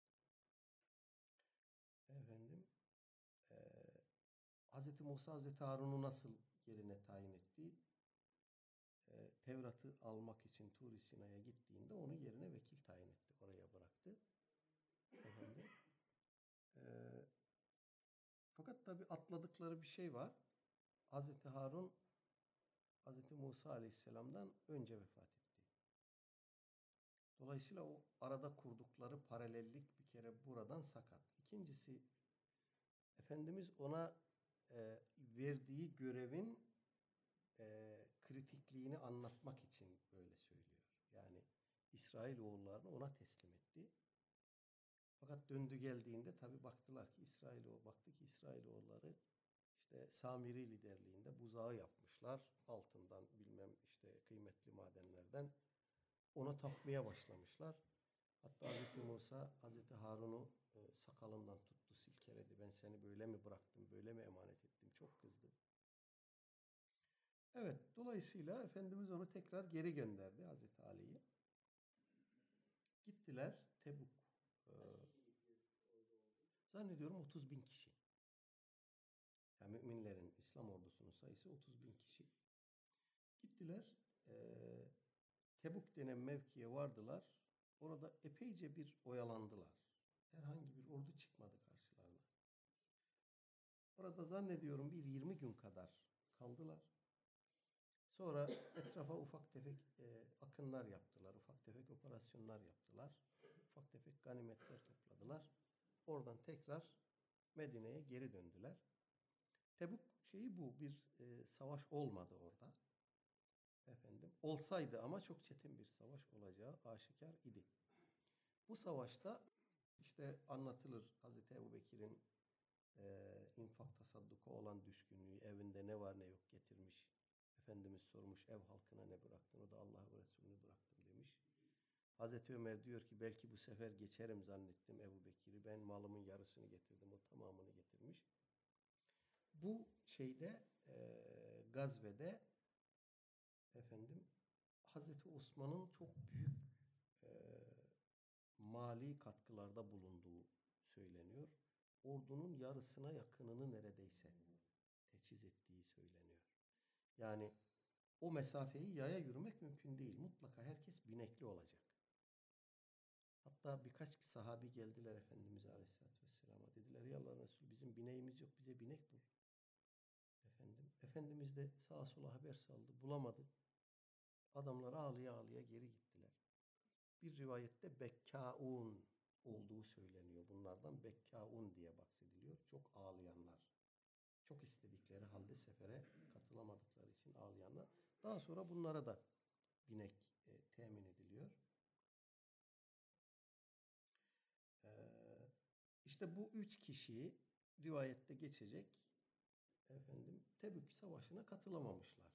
A: Efendim, e, Hazreti Musa Hazreti Harun'u nasıl yerine tayin etti? Tevrat'ı almak için Tur-i Sina'ya gittiğinde onu yerine vekil tayin etti. Oraya bıraktı. Efendim, e, fakat tabi atladıkları bir şey var. Hazreti Harun Hazreti Musa Aleyhisselam'dan önce vefat etti. Dolayısıyla o arada kurdukları paralellik bir kere buradan sakat. İkincisi, Efendimiz ona verdiği görevin kritikliğini anlatmak için böyle söylüyor. Yani İsrailoğullarını ona teslim etti. Fakat döndü geldiğinde tabi baktılar ki İsrailoğulları işte Samiri liderliğinde buzağı yapmışlar. Altından bilmem işte kıymetli madenlerden ona tapmaya başlamışlar. Hatta Hazreti Musa Hazreti Harun'u sakalından tuttu, silkeledi. Ben seni böyle mi bıraktım, böyle mi emanet ettim? Çok kızdı. Evet, dolayısıyla Efendimiz onu tekrar geri gönderdi Hazreti Ali'yi. Gittiler Tebuk. Zannediyorum 30 bin kişi. Yani müminlerin, İslam ordusunun sayısı 30 bin kişi. Gittiler, Tebuk denen mevkiye vardılar. Orada epeyce bir oyalandılar. Herhangi bir ordu çıkmadı karşılarına. Orada zannediyorum bir 20 gün kadar kaldılar. Sonra etrafa ufak tefek akınlar yaptılar. Ufak tefek operasyonlar yaptılar. Ufak tefek ganimetler topladılar. Oradan tekrar Medine'ye geri döndüler. Tebuk bu bir savaş olmadı orada. Efendim, olsaydı ama çok çetin bir savaş olacağı aşikar idi. Bu savaşta işte anlatılır Hazreti Ebubekir'in infak tasadduka olan düşkünlüğü, evinde ne var ne yok getirmiş. Efendimiz sormuş ev halkına ne bıraktın? O da Allah ve Resulü'nü bıraktım demiş. Hazreti Ömer diyor ki belki bu sefer geçerim zannettim Ebu Bekir'i. Ben malımın yarısını getirdim. O tamamını getirmiş. Bu şeyde gazvede efendim Hazreti Osman'ın çok büyük mali katkılarda bulunduğu söyleniyor. Ordunun yarısına yakınını neredeyse teçhiz ettiği söyleniyor. Yani o mesafeyi yaya yürümek mümkün değil. Mutlaka herkes binekli olacak. Hatta birkaç sahabi geldiler Efendimiz Aleyhisselatü Vesselam'a. Dediler ya Allah Resulü bizim bineğimiz yok, bize binek bul. Efendimiz de sağa sola haber saldı. Bulamadı. Adamlar ağlıya ağlıya geri gittiler. Bir rivayette Bekkaun olduğu söyleniyor. Bunlardan Bekkaun diye bahsediliyor. Çok ağlayanlar. Çok istedikleri halde sefere katılamadıkları için ağlayanlar. Daha sonra bunlara da binek temin ediliyor. İşte bu 3 kişi rivayette geçecek Tebük Savaşı'na katılamamışlar.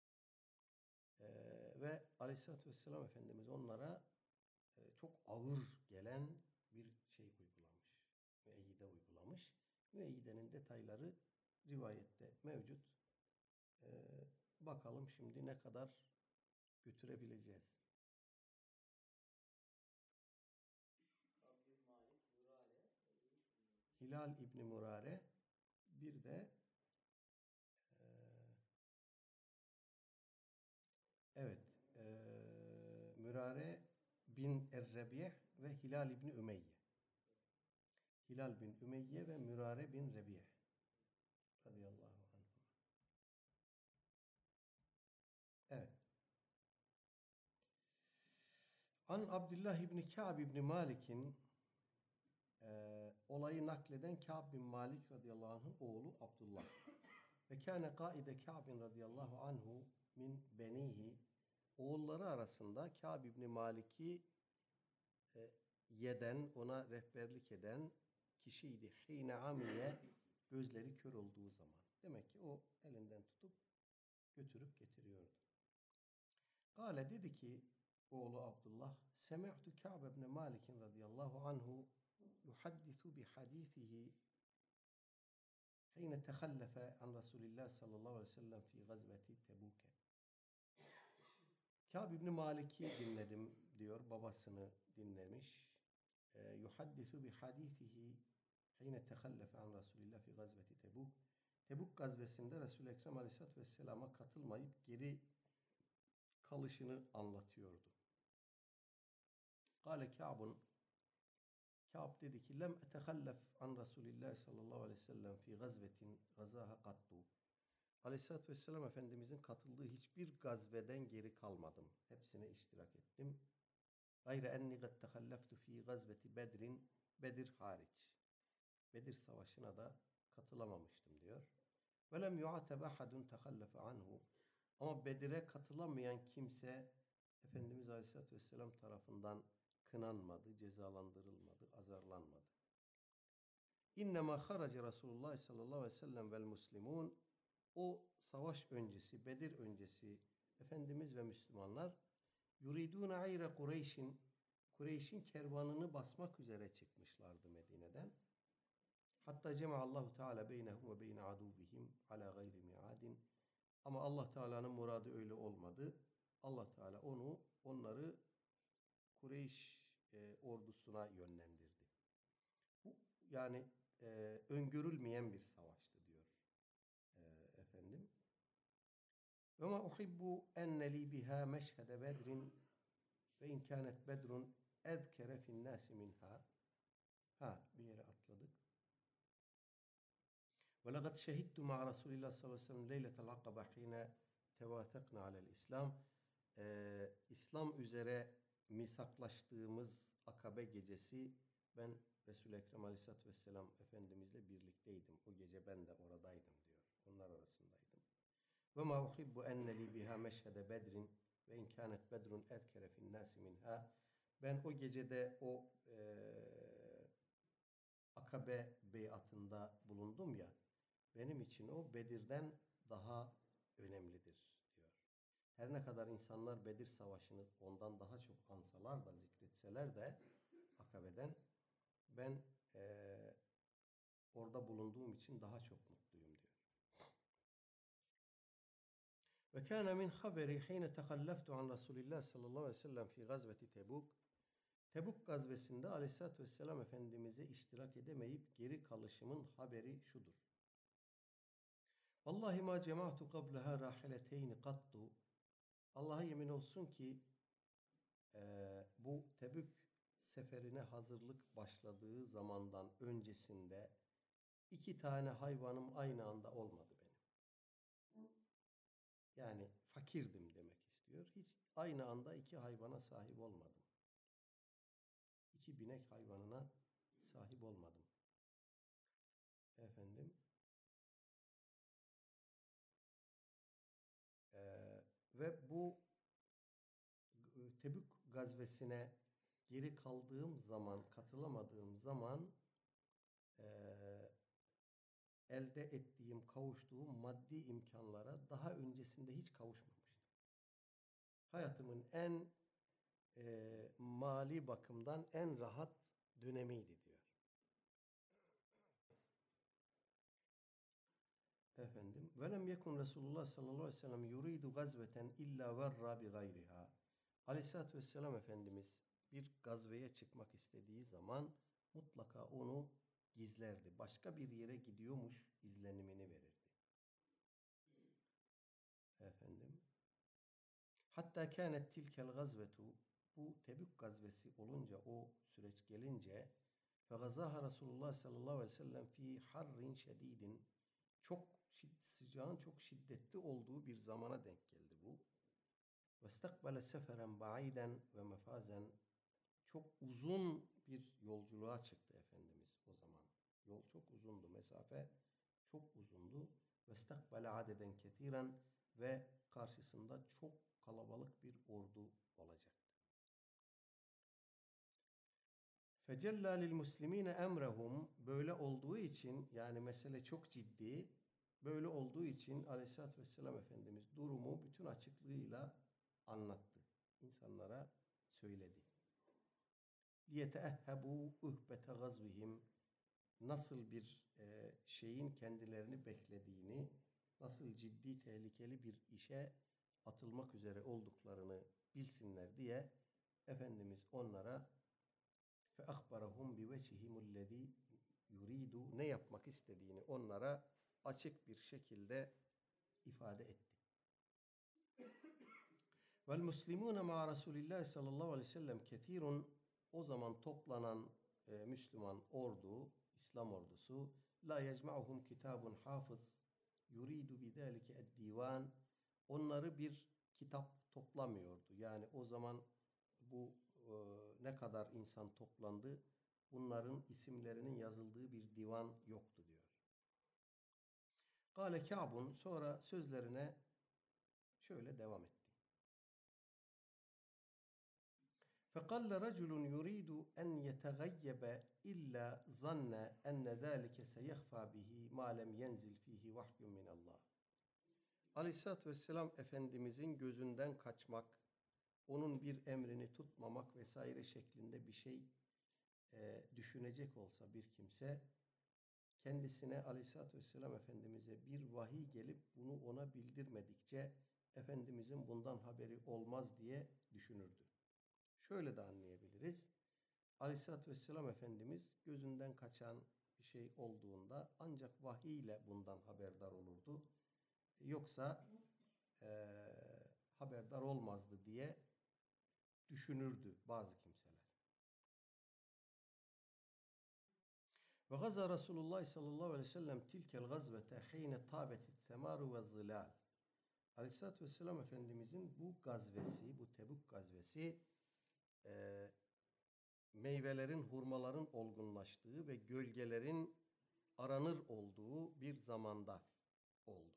A: Ve Aleyhisselatü Vesselam Efendimiz onlara çok ağır gelen bir şey uygulamış. Müeyyide uygulamış. Müeyyidenin detayları rivayette mevcut. Bakalım şimdi ne kadar götürebileceğiz. Hilal İbni Murare, bir de Mürare bin Er-Rebih ve Hilal İbni Ümeyye. Hilal bin Ümeyye ve Mürare bin Rebih radıyallahu anh. Evet. An Abdullah İbni Ka'b İbni Malik'in olayı nakleden Ka'b bin Malik radıyallahu anh'ın oğlu Abdullah. Ve kâne kaide Ka'bin radıyallahu anhu min benihi, oğulları arasında Ka'b İbni Malik'i ona rehberlik eden kişiydi. Hîne amiye, gözleri kör olduğu zaman. Demek ki o elinden tutup götürüp getiriyordu. Kâle, dedi ki oğlu Abdullah, semi'tu Ka'b ibn Malik radıyallahu anhu yuhaddisu bi hadisihi hîne tehallefe an Resulillah sallallahu aleyhi ve sellem fi gazveti Tebûke. Ka'b ibn Malik'i dinledim diyor, babasını dinlemiş. Yuhaddisu bi hadisihi hîne tehallefe an Resulillah fi gazveti Tebûk. Tebuk gazvesinde Resul-i Ekrem Aleyhisselatü Vesselam'a katılmayıp geri kalışını anlatıyordu. Kâle Ka'bun, Ka'b dedi ki lem etehallef an Resulillah sallallahu aleyhi ve sellem fi gazvetin gazaha kattu. Aleyhisselatü Vesselam Efendimizin katıldığı hiçbir gazveden geri kalmadım. Hepsine iştirak ettim. Gayre enni gad tehalleftu fi gazveti Bedrin, Bedir hariç. Bedir Savaşı'na da katılamamıştım diyor. Ve lem yu'ateb ahadun tehallefe anhu. Ama Bedir'e katılamayan kimse Efendimiz Aleyhisselatü Vesselam tarafından kınanmadı, cezalandırılmadı, azarlanmadı. İnnemâ harace Resulullah sallallahu aleyhi ve sellem vel muslimun. O savaş öncesi, Bedir öncesi Efendimiz ve Müslümanlar yuridûne ayre Kureyş'in kervanını basmak üzere çıkmışlardı Medine'den. Hatta cema'allahu teala beynehum ve beyne aduvihim ala gayri mi'adin. Ama Allah Teala'nın muradı öyle olmadı. Allah Teala onları Kureyş ordusuna yönlendirdi. Bu yani öngörülmeyen bir savaştı diyor efendim. Ve ma uhibbu enne li biha meşhede bedrin ve in kânet bedrun ezkere fin nâsi minha. Bir yere atladık. Ve laqad şehidtu ma'a Resulillah sallallahu aleyhi ve sellem leyletel akabe hîne tevâthekna alel İslam. İslam üzere misaklaştığımız Akabe gecesi ben Resul-i Ekrem Aleyhisselatü Vesselam Efendimizle birlikteydim. O gece ben de oradaydım diyor. Onlar arasındaydım. Ve ma uhibbu enne li biha meşhede bedrin ve in kânet bedrun ezkere fin nâsi minha. Ben o gecede o Akabe beyatında bulundum ya, benim için o Bedir'den daha önemlidir diyor. her ne kadar insanlar Bedir Savaşı'nı ondan daha çok ansalar da, zikretseler de Akabe'den, ben orada bulunduğum için daha çok mutluyum diyor. Ve kâne min haberi hîne tehalleftu an Resulillah sallallahu aleyhi ve sellem fi gazveti Tebuk. Tebuk gazvesinde aleyhissalatü vesselam Efendimiz'e iştirak edemeyip geri kalışımın haberi şudur. Vallahi ma cema'tu qablaha rahileteyni kattu. Allah'a yemin olsun ki bu Tebük seferine hazırlık başladığı zamandan öncesinde 2 tane hayvanım aynı anda olmadı benim. Yani fakirdim demek istiyor. Hiç aynı anda 2 hayvana sahip olmadım. 2 binek hayvanına sahip olmadım. Efendim. Ve bu Tebük gazvesine geri kaldığım zaman, katılamadığım zaman elde ettiğim, kavuştuğum maddi imkanlara daha öncesinde hiç kavuşmamıştım. Hayatımın en mali bakımdan en rahat dönemiydi diyor. Efendim, velem yekun Resulullah sallallahu aleyhi ve sellem yuridu gazveten illa verra bi gayriha. Aleyhissalatü vesselam Efendimiz bir gazveye çıkmak istediği zaman mutlaka onu gizlerdi. Başka bir yere gidiyormuş izlenimini verirdi. Efendim. Hatta kânet tilkel gazvetu, bu Tebük gazvesi olunca, o süreç gelince fe gazaha Resulullah sallallahu aleyhi ve sellem fi harrin şedidin, sıcağın çok şiddetli olduğu bir zamana denk geldi bu. Ve istakbale seferen ba'iden ve mefazen, çok uzun bir yolculuğa çıktı Efendimiz o zaman. Yol çok uzundu, mesafe çok uzundu. Ve istakbale adeden ketiren, ve karşısında çok kalabalık bir ordu olacaktı. Fecella lil muslimine emrehum, böyle olduğu için, yani mesele çok ciddi, böyle olduğu için Aleyhisselatü Vesselam Efendimiz durumu bütün açıklığıyla anlattı. İnsanlara söyledi. Liyeteehhebu uhbete gazvihim, nasıl bir şeyin kendilerini beklediğini, nasıl ciddi, tehlikeli bir işe atılmak üzere olduklarını bilsinler diye Efendimiz onlara fe ahbarahum bi vecihimullezî yuridu, ne yapmak istediğini onlara açık bir şekilde ifade etti. Vel muslimûne ma'a Resulillah sallallahu aleyhi ve sellem kethîrun, o zaman toplanan Müslüman ordu, İslam ordusu, la yecma'uhum kitabun hafız yuridu bidâlike ed-divan, onları bir kitap toplamıyordu. Yani o zaman bu ne kadar insan toplandı, bunların isimlerinin yazıldığı bir divan yoktu diyor. Kâle Kâbun, sonra sözlerine şöyle devam etti. فَقَلَّ رَجُلٌ يُرِيدُ أَنْ يَتَغَيَّبَ إِلَّا ظَنَّ أَنَّ ذَٰلِكَ سَيَخْفَى بِهِ مَا لَمْ يَنْزِلْ ف۪يهِ وَحْيٌ مِنَ اللّٰهِ. Aleyhisselatü Vesselam Efendimizin gözünden kaçmak, onun bir emrini tutmamak vesaire şeklinde bir şey düşünecek olsa bir kimse, kendisine Aleyhisselatü Vesselam Efendimiz'e bir vahiy gelip bunu ona bildirmedikçe Efendimizin bundan haberi olmaz diye düşünürdü. Şöyle de anlayabiliriz. Aleyhisselatü Vesselam Efendimiz gözünden kaçan bir şey olduğunda ancak vahiy ile bundan haberdar olurdu. Yoksa haberdar olmazdı diye düşünürdü bazı kimseler. Ve gaza Resulullah sallallahu aleyhi ve sellem tilkel gazvete hine tabetit semaru ve zilal. Aleyhisselatü Vesselam Efendimizin bu gazvesi, bu Tebük gazvesi meyvelerin, hurmaların olgunlaştığı ve gölgelerin aranır olduğu bir zamanda oldu.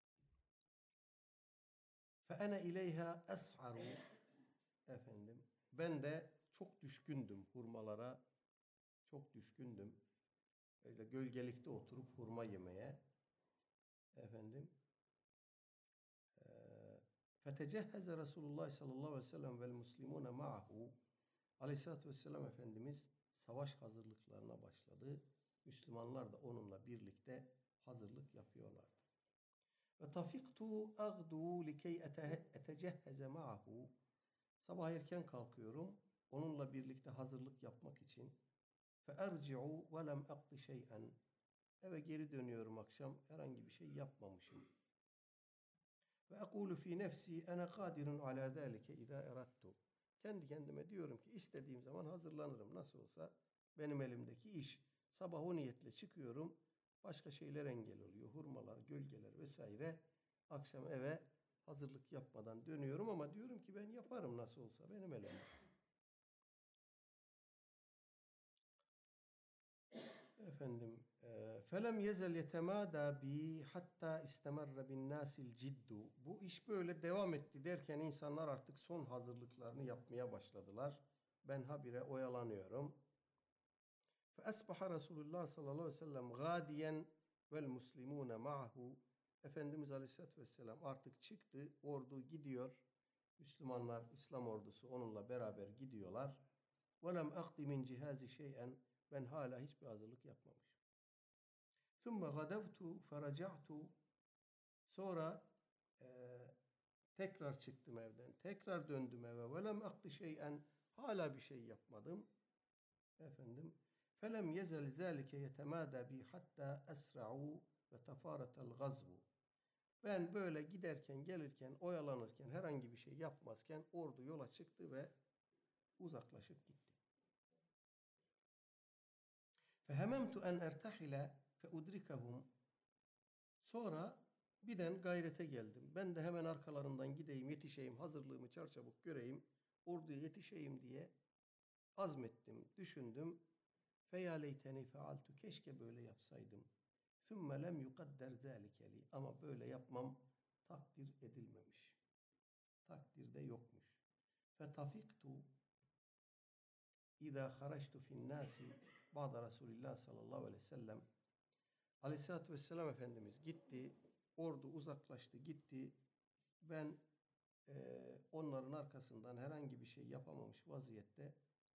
A: فَاَنَا اِلَيْهَا اَسْعَرُ, efendim, ben de çok düşkündüm hurmalara, çok düşkündüm. Öyle gölgelikte oturup hurma yemeye. Efendim. Fetecehheze Resulullah sallallahu aleyhi ve sellem vel muslimune ma'ahu. Aleyhisselatü vesselam Efendimiz savaş hazırlıklarına başladı. Müslümanlar da onunla birlikte hazırlık yapıyorlardı. Ve tafiktu agdu likey etecehheze ma'ahu. Sabah erken kalkıyorum. Onunla birlikte hazırlık yapmak için. Fe erci'u ve lem akdi şey'en. Eve geri dönüyorum akşam. Herhangi bir şey yapmamışım. Ve ekulu fi nefsi ene kadirun ala zalike iza erattu. Kendi kendime diyorum ki istediğim zaman hazırlanırım. Nasıl olsa benim elimdeki iş. Sabah o niyetle çıkıyorum. Başka şeyler engel oluyor. Hurmalar, gölgeler vesaire. Akşam eve hazırlık yapmadan dönüyorum ama diyorum ki ben yaparım nasıl olsa benim elimde. Efendim, felem yezel yetemada bi hatta istemerre bin nasil ciddu. Bu iş böyle devam etti derken insanlar artık son hazırlıklarını yapmaya başladılar. Ben habire oyalanıyorum. Fe asbaha Resulullah sallallahu aleyhi ve sellem gadiyen vel muslimune ma'hu. Efendimiz Aleyhisselatü Vesselam artık çıktı, ordu gidiyor. Müslümanlar, İslam ordusu onunla beraber gidiyorlar. وَلَمْ اَقْدِ مِنْ جِهَازِ شَيْئًا. Ben hala hiçbir hazırlık yapmamışım. ثُمَّ غَدَوْتُ فَرَجَعْتُ. Sonra tekrar çıktım evden. Tekrar döndüm eve. وَلَمْ اَقْدِ شَيْئًا. Hala bir şey yapmadım. Efendim. فَلَمْ يَزَلْ ذَٰلِكَ يَتَمَادَى بِي حَتَّى أَسْرَعُوا وَتَفَارَتَ الْغَزْوُ. Ben böyle giderken, gelirken, oyalanırken, herhangi bir şey yapmazken ordu yola çıktı ve uzaklaşıp gitti. فَهَمَمْتُ أَنْ اَرْتَحِلَ فَاُدْرِكَهُمْ. Sonra birden gayrete geldim. Ben de hemen arkalarından gideyim, yetişeyim, hazırlığımı çarçabuk göreyim, orduya yetişeyim diye azmettim, düşündüm. فَيَا لَيْتَنِي فَعَلْتُ. Keşke böyle yapsaydım. ثُمَّ لَمْ يُقَدَّرْ ذَٰلِكَ لِي. Ama böyle yapmam takdir edilmemiş. Takdirde yokmuş. فَتَفِقْتُ اِذَا خَرَجْتُ فِي النَّاسِ بَعْدَ Resulillah sallallahu aleyhi ve sellem. Aleyhisselatü vesselam Efendimiz gitti. Ordu uzaklaştı, gitti. Ben onların arkasından herhangi bir şey yapamamış vaziyette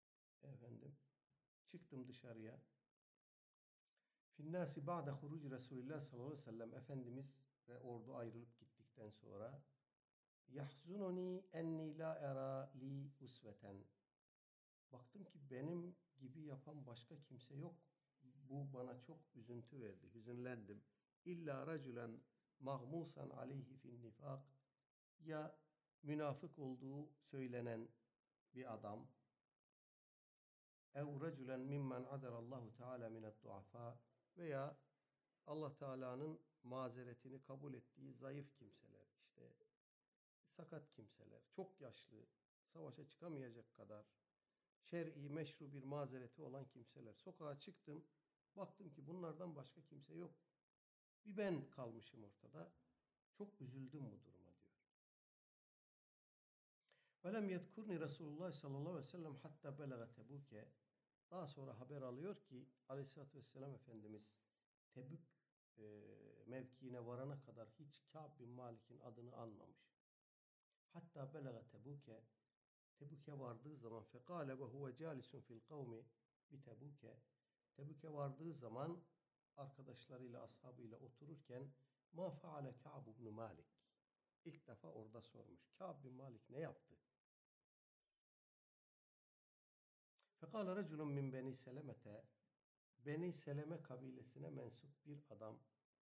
A: çıktım dışarıya. Finnâsi ba'de huruc Resulillah sallallahu aleyhi ve sellem. Efendimiz ve ordu ayrılıp gittikten sonra yahzununi enni la era li usveten. Baktım ki benim gibi yapan başka kimse yok. Bu bana çok üzüntü verdi. Hüzünlendim. İlla raculen mağmusan aleyhi fin nifak. Ya münafık olduğu söylenen bir adam. Ev raculen mimmen adarallahu teala minet duafa. Veya Allah Teala'nın mazeretini kabul ettiği zayıf kimseler, işte sakat kimseler, çok yaşlı, savaşa çıkamayacak kadar şer'i meşru bir mazereti olan kimseler. Sokağa çıktım, baktım ki bunlardan başka kimse yok. Bir ben kalmışım ortada. Çok üzüldüm bu duruma diyor. Velem yedkurni Resulullah sallallahu aleyhi ve sellem hatta belaga Tebuke. Daha sonra haber alıyor ki Aleyhisselatü Vesselam Efendimiz Tebük mevkiine varana kadar hiç Kâb bin Malik'in adını anmamış. Hatta belaga Tebuke. Tebük'e vardığı zaman fekâle ve huve câlisun fil kavmi bi Tebük'e. Tebük'e vardığı zaman arkadaşlarıyla, ashabıyla otururken ma faale Kâb bin Malik. İlk defa orada sormuş. Kâb bin Malik ne yaptı? Fekâle reculun min beni Selemete. Beni Seleme kabilesine mensup bir adam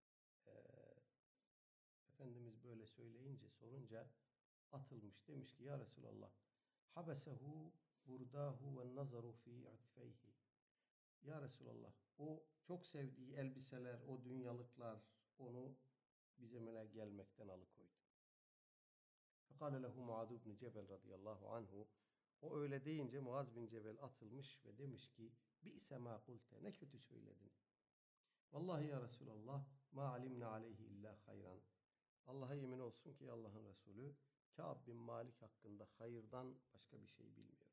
A: Efendimiz böyle söyleyince, sorunca atılmış. Demiş ki ya Resulallah habesehu burdahu ve nazaru fi atfeyhi. Ya Resulallah o çok sevdiği elbiseler, o dünyalıklar onu bizimle gelmekten alıkoydu. Fekâle lehu Muaz ibn Cebel radıyallahu anhu. O öyle deyince Muaz bin Cebel atılmış ve demiş ki bi'se ma kulte. Ne kötü söyledin. Vallahi ya Resulallah ma alimna aleyhi illa hayran. Allah'a yemin olsun ki Allah'ın Resulü Kâb bin Malik hakkında hayırdan başka bir şey bilmiyor.